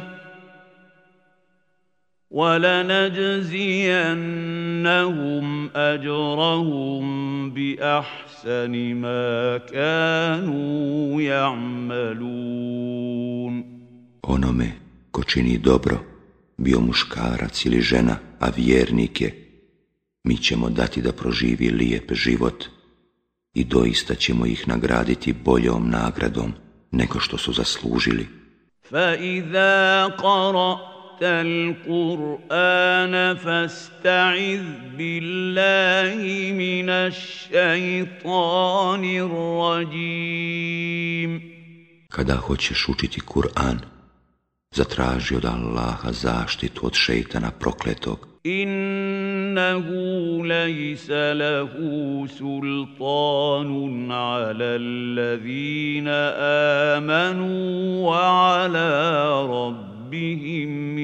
وَلَنَجْزِيَنَّهُمْ أَجْرَهُم بِأَحْسَنِ مَا كَانُوا يَعْمَلُونَ. Onome ko čini dobro, bio muškarac ili žena, a vjernik je, mi ćemo dati da proživi lijep život i doista ćemo ih nagraditi boljom nagradom nego što su zaslužili. فَإِذَا قَرَأْتَ الْقُرْآنَ فَاسْتَعِذْ بِاللَّهِ مِنَ الشَّيْطَانِ الرَّجِيمِ. Kada hoćeš učiti Kur'an, zatraži od Allaha zaštitu od šejtana prokletog. Innahu lejsa lahu sultanun ala allazina amanu wa ala rabbihim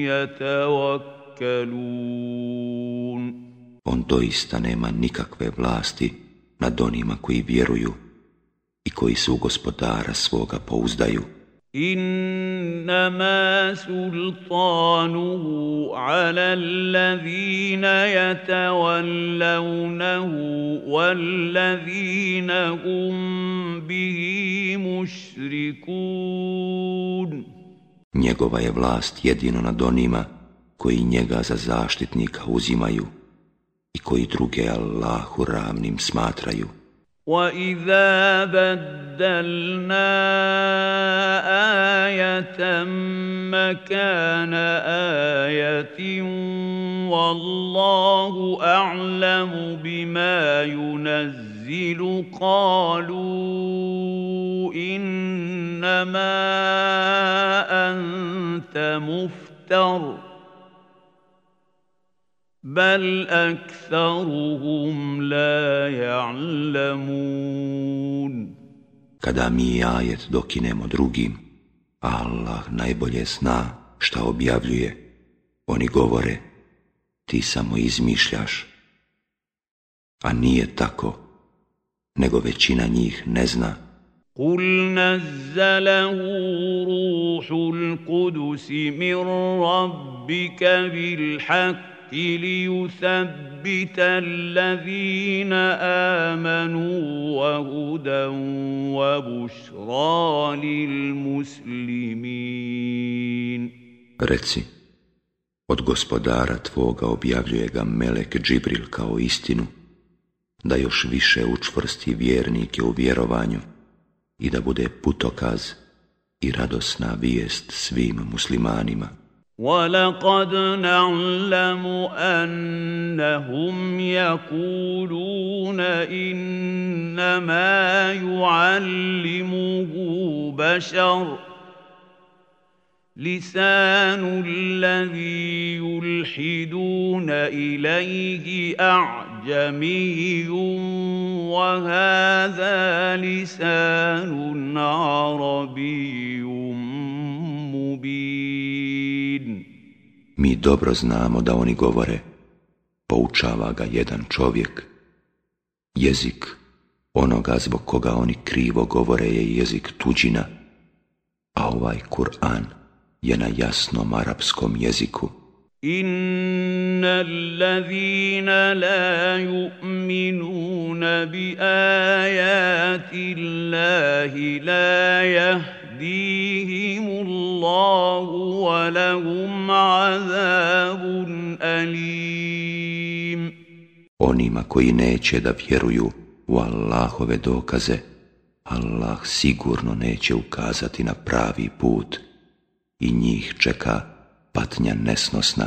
yatawakkalun. On doista nema nikakve vlasti nad onima koji vjeruju i koji se u gospodara svoga pouzdaju. Innama sultanuhu ala allazina yatawallawnahu wallazina hum bihi mushrikun. Njegova je vlast jedino nad onima koji njega za zaštitnika uzimaju i koji druge Allahu ravnim smatraju. وَإِذَا بَدَّلْنَا آيَةً مَكَانَ آيَةٍ وَاللَّهُ أَعْلَمُ بِمَا يُنَزِّلُ قَالُوا إِنَّمَا أَنتَ أنت مفتر بل أكثرهم لا يعلمون. Kada mi ajet dokinemo drugim, Allah najbolje zna šta objavljuje. Oni govore, ti samo izmišljaš. A nije tako, nego većina njih ne zna. قُلْ نَزَّلَهُ رُوحُ الْقُدُسِ مِنْ رَبِّكَ بِالْحَقِّ لِيُثَبِّتَ الَّذِينَ آمَنُوا وَهُدًى وَبُشْرَى لِلْمُسْلِمِينَ. Reci, od gospodara tvoga objavljuje ga melek Džibril kao istinu, da još više učvrsti vjernike u vjerovanju i da bude putokaz i radosna vijest svim muslimanima. وَلَقَدْ نَعْلَمُ أَنَّهُمْ يَقُولُونَ إِنَّمَا يُعَلِّمُهُ بَشَرٌ لِسَانُ الَّذِي يُلْحِدُونَ إِلَيْهِ أَعْجَمِيٌّ وَهَذَا لِسَانٌ عَرَبِيٌّ مُبِينٌ. Mi dobro znamo da oni govore, poučava ga jedan čovjek. Jezik onoga zbog koga oni krivo govore je jezik tuđina, a ovaj Kur'an je na jasnom arapskom jeziku. إِنَّ الَّذِينَ لَا يُؤْمِنُونَ بِآيَاتِ اللَّهِ لَا يَهْدِيهِمُ اللَّهُ وَلَهُمْ عَذَابٌ أَلِيمٌ. Onima koji neće da vjeruju u Allahove dokaze, Allah sigurno neće ukazati na pravi put i njih čeka patnja nesnosna.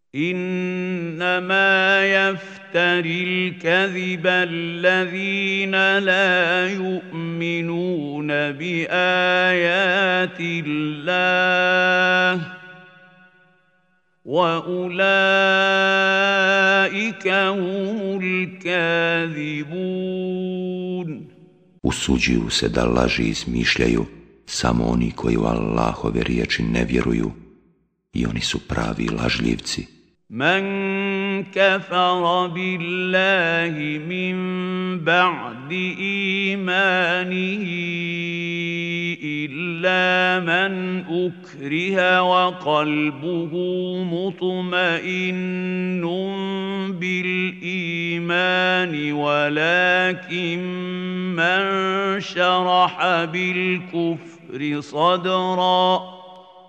إنما يفتري الكذب الذين لا يؤمنون بآيات الله وأولئك هم الكاذبون. Usuđuju se da laži izmišljaju samo oni koji u Allahove riječi ne vjeruju i oni su pravi lažljivci. من كفر بالله من بعد إيمانه إلا من أكره وقلبه مطمئن بالإيمان ولكن من شرح بالكفر صدرا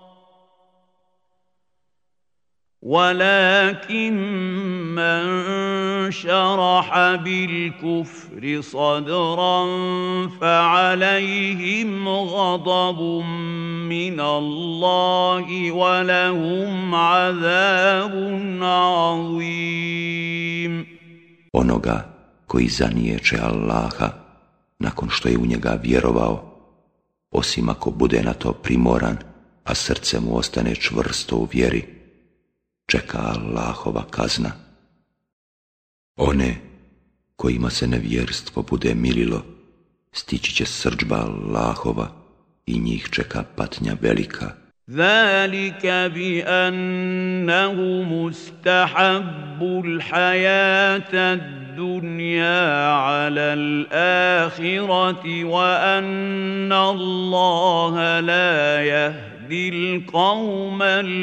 ولكن من شرح بالكفر صدرا فعليهم غضب من الله ولهم عذاب عظيم. Onoga koji zaniječe Allaha nakon što je u njega vjerovao, osim ako bude na to primoran, a srce mu ostane čvrsto u vjeri, čeka Allahova kazna. One kojima se nevjerstvo bude mililo, stići će srdžba Allahova i njih čeka patnja velika. ذلك بأنهم استحبوا الحياة الدنيا على الآخرة وأن الله لا يهدي القوم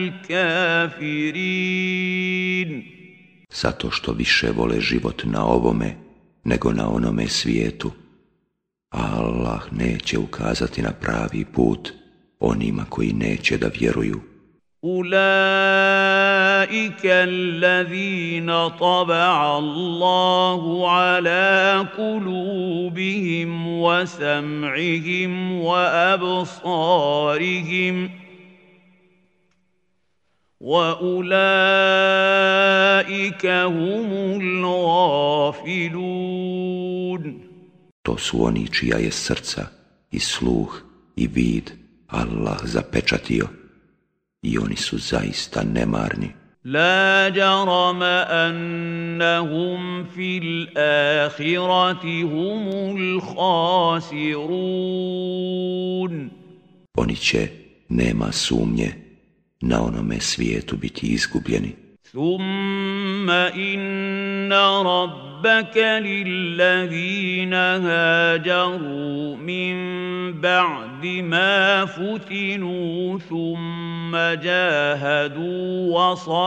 الكافرين. Zato što više vole život na ovome nego na onome svijetu, a Allah neće ukazati na pravi put onima koji neće da vjeruju. أولئك الذين طبع الله على قلوبهم وسمعهم وأبصارهم وأولئك هم الغافلون. To su oni čija je srca i sluh i vid Allah zapečatio, i oni su zaista nemarni. لا جرم أنهم في الآخرة هم الخاسرون. Oni će, nema sumnje, na onome svijetu biti izgubljeni. ثم إن ربك للذين هاجروا من بعد ما فتنوا ثم جاهدوا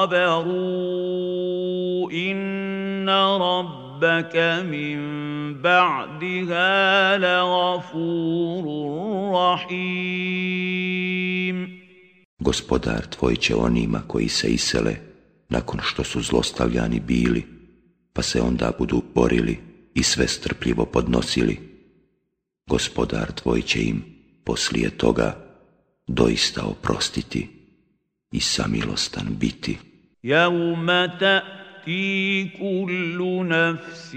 وصبروا إن ربك من بعدها لغفور رحيم. Gospodar tvoj će onima koji se isele nakon što su zlostavljani bili, pa se onda budu borili i sve strpljivo podnosili, Gospodar tvoj će im poslije toga doista oprostiti i samilostan biti. يوم تأتي كل نفس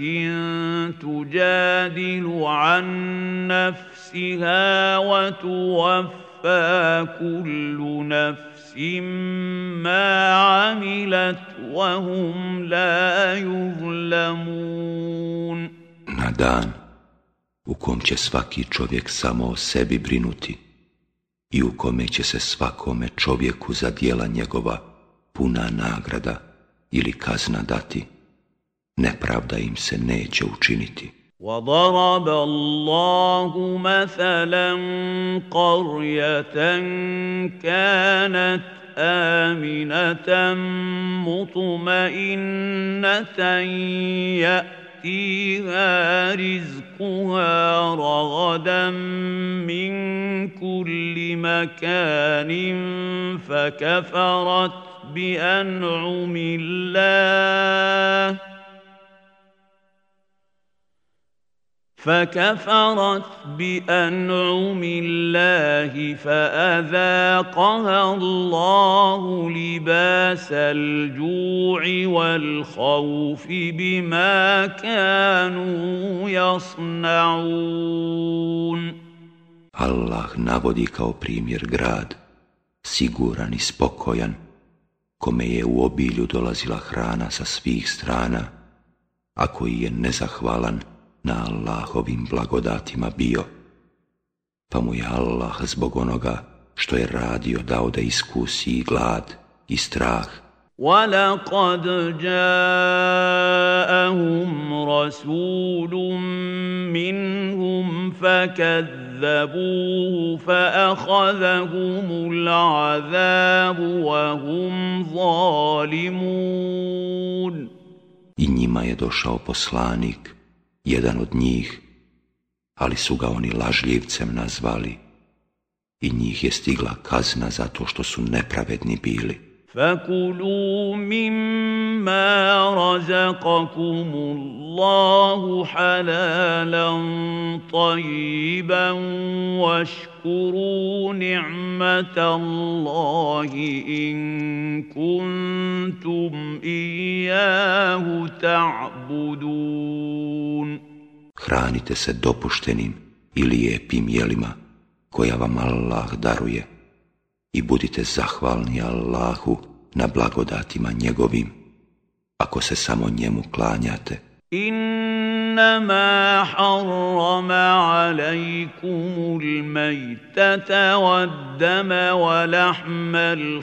تجادل عن نفسها وتوفى كل نفس ما عملت وهم لا يظلمون. Na dan u kom će svaki čovjek samo o sebi brinuti i u kome će se svakome čovjeku za djela njegova puna nagrada ili kazna dati, nepravda im se neće učiniti. وضرب الله مثلا قرية كانت آمنة مطمئنة يأتيها رزقها رغدا من كل مكان فكفرت بأنعم الله فكفرت بأنعم الله فأذاقها الله لباس الجوع والخوف بما كانوا يصنعون. Allah navodi kao primjer grad, siguran i spokojan, kome je u obilju dolazila hrana sa svih strana, a koji je nezahvalan na Allahovim blagodatima bio, pa mu je Allah zbog onoga što je radio dao da iskusi i glad i strah. وَلَقَدْ جَاءَهُمْ رَسُولٌ مِّنْهُمْ فَكَذَّبُوهُ فَأَخَذَهُمُ الْعَذَابُ وَهُمْ ظَالِمُونَ. I njima je došao poslanik, jedan od njih, ali su ga oni lažljivcem nazvali i njih je stigla kazna zato što su nepravedni bili. فَكُلُوا مِمَّا رَزَقَكُمُ اللَّهُ حَلَالًا طَيِّبًا وَاشْكُرُوا نِعْمَةَ اللَّهِ إِن كُنتُمْ إِيَّاهُ تَعْبُدُونَ. Hranite se dopuštenim i lijepim jelima koja vam Allah daruje i budite zahvalni Allahu na blagodatima njegovim, ako se samo njemu klanjate. إنما حرم عليكم الميتة والدم ولحم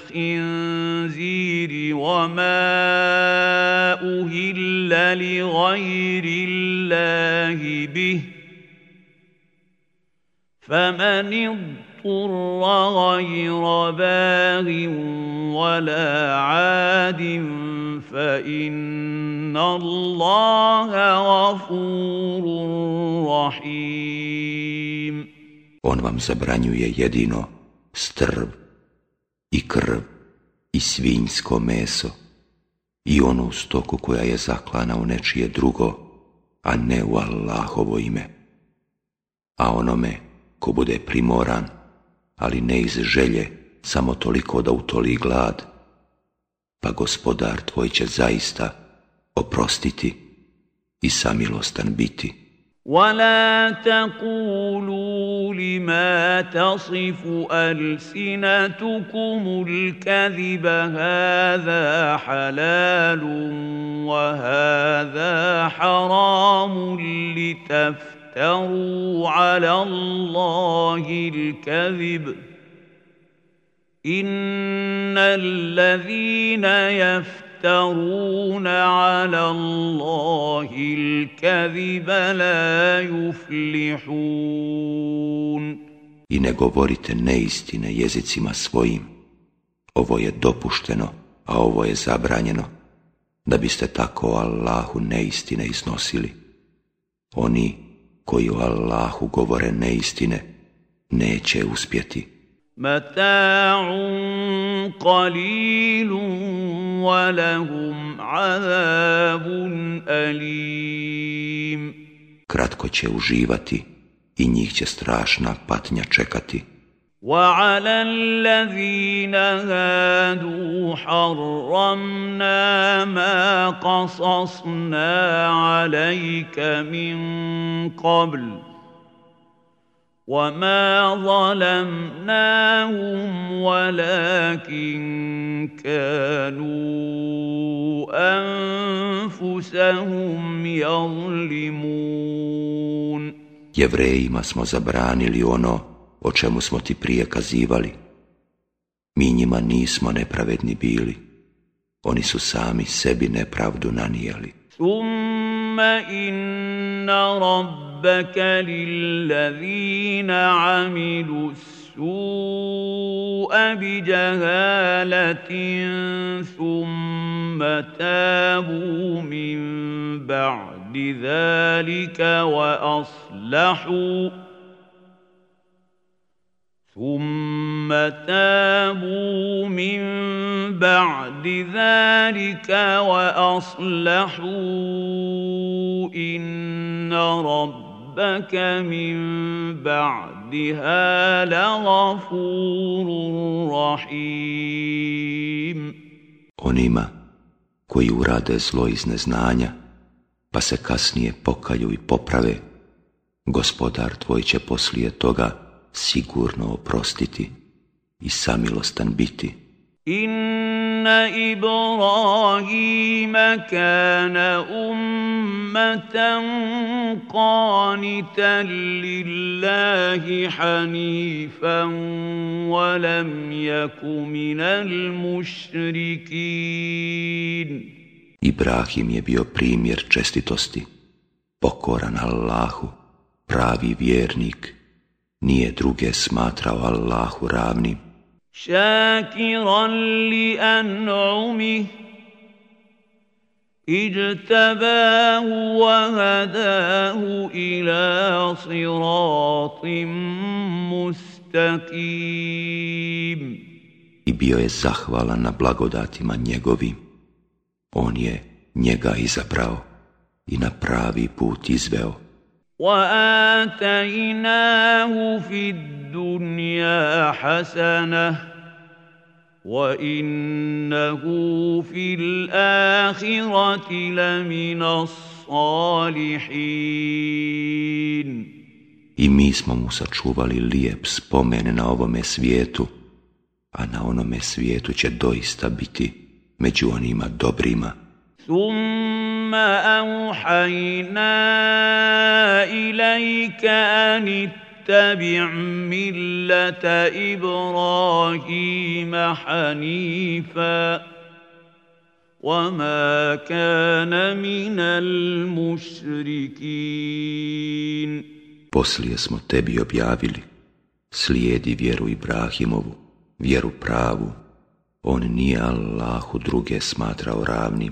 الخنزير وما أهل لغير الله به فمن اضطر غير باغ ولا عاد فإن الله غفور رحيم. On vam zabranjuje jedino strv i krv i svinjsko meso i onu stoku koja je zaklana u nečije drugo, a ne u Allahovo ime. A onome ko bude primoran, ali ne iz želje, samo toliko da utoli glad, pa Gospodar tvoj će zaista oprostiti i samilostan biti. ولا تقولوا لما تصف ألسنتكم الكذب هذا حلال وهذا حرام لتفتروا على الله الكذب إن الذين يفترون يفترون على الله الكذب لا يفلحون. I ne govorite neistine jezicima svojim. Ovo je dopušteno, a ovo je zabranjeno, da biste tako o Allahu neistine iznosili. Oni koji o Allahu govore neistine neće uspjeti. Mata'un qalilun وَلَهُمْ عَذَابٌ أَلِيمٌ. Kratko će uživati i njih će strašna patnja čekati. وَعَلَى الَّذِينَ هَادُوا حَرَّمْنَا مَا قَصَصْنَا عَلَيْكَ مِنْ قَبْلُ وَمَا ظَلَمْنَاهُمْ وَلَكِنْ كَانُوا أَنفُسَهُمْ يَظْلِمُونَ. Jevrejima smo zabranili ono o čemu smo ti prije kazivali. Mi njima nismo nepravedni bili. Oni su sami sebi nepravdu nanijeli. Thumma inna rabbaka lillazina amilu su'a bi jahalatin thumma tabu min ba'di dhalika wa aslahu ثم تابوا من بعد ذلك وأصلحوا إن ربك من بعدها لغفور رحيم. Onima koji urade zlo iz neznanja, pa se kasnije pokaju i poprave, Gospodar tvoj će poslije toga sigurno oprostiti i samilostan biti. Inna Ibrahima kana ummatan qanitan lillahi hanifan wa lam yaku minal mušrikin. Ibrahim je bio primjer čestitosti, pokoran Allahu, pravi vjernik, nije druge smatrao Allahu ravnim. Šakiran li an'umih, ijtabahu wa hadahu ila siratim mustaqim. I bio je zahvalan na blagodatima njegovim. On je njega izabrao i na pravi put izveo. وآتيناه في الدنيا حسنة وإنه في الآخرة لمن الصالحين. I mi smo mu sačuvali lijep spomen na ovome svijetu, a na onome svijetu će doista biti među onima dobrima. ثم أوحينا إليك أن اتبع ملة إبراهيم حنيفا وما كان من المشركين. Poslije smo tebi objavili, slijedi vjeru Ibrahimovu, vjeru pravu, on nije Allahu druge smatrao ravnim.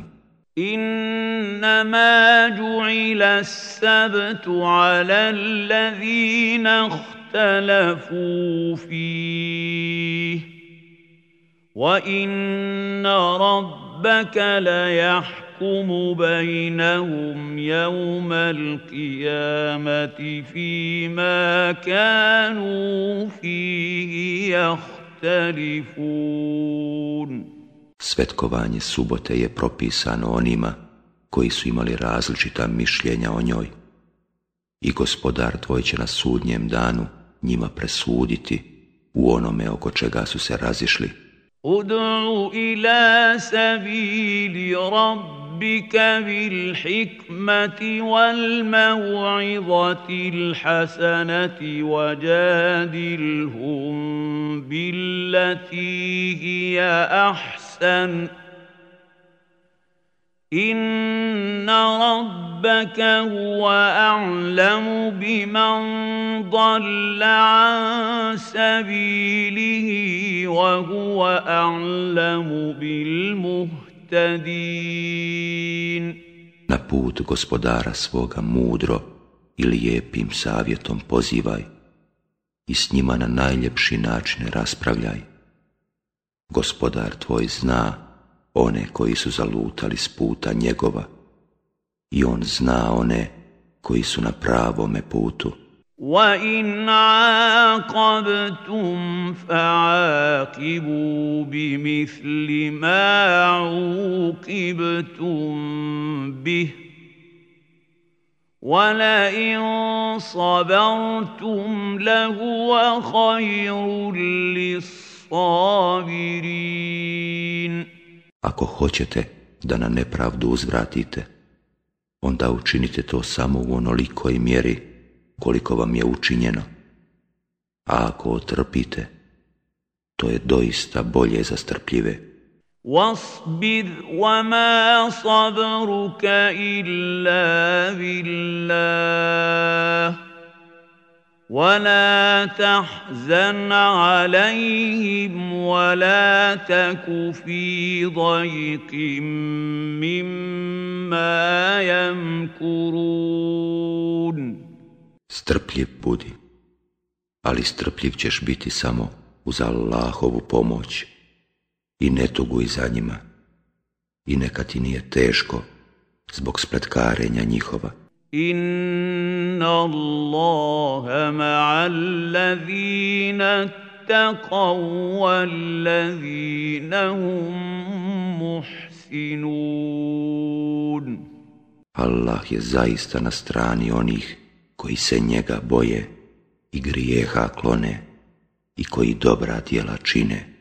إنما جعل السبت على الذين اختلفوا فيه وإن ربك ليحكم بينهم يوم القيامة فيما كانوا فيه يختلفون. Svetkovanje subote je propisano onima koji su imali različita mišljenja o njoj I Gospodar tvoj će na sudnjem danu njima presuditi u onome oko čega su se razišli. Ud'u ila sabili rabbika bil hikmati wal maw'izati al hasanati wajadilhum billati hiya ahsan. Inna rabbaka huwa a'lamu biman dalla an sabilihi wa huwa a'lamu bil muhtadin. Na put Gospodara svoga mudro i lijepim savjetom pozivaj i s njima na najljepši način raspravljaj. Gospodar tvoj zna one koji su zalutali s puta njegova i on zna one koji su na pravome putu. وَإِنْ عَاقَبْتُمْ فَعَاقِبُوا بِمِثْلِ مَا عُوقِبْتُمْ بِهِ وَلَئِنْ صَبَرْتُمْ لَهُوَ خَيْرٌ لِلصَّابِرِينَ. Ako hoćete da na nepravdu uzvratite, onda učinite to samo u onolikoj mjeri koliko vam je učinjeno. A ako otrpite, to je doista bolje za strpljive. وَاصْبِرْ وَمَا صَبْرُكَ إِلَّا بِاللَّهِ وَلَا تَحْزَنْ عَلَيْهِمْ وَلَا تَكُ فِي ضَيْقٍ مِّمَّا يَمْكُرُونَ. Strpljiv budi, ali strpljiv ćeš biti samo uz Allahovu pomoć i ne tuguj za njima i neka ti nije teško zbog spletkarenja njihova. Inna Allaha ma'al ladhina ittaqaw wal ladhina hum muhsinun. Allah je zaista na strani onih koji se njega boje i grijeha klone i koji dobra djela čine.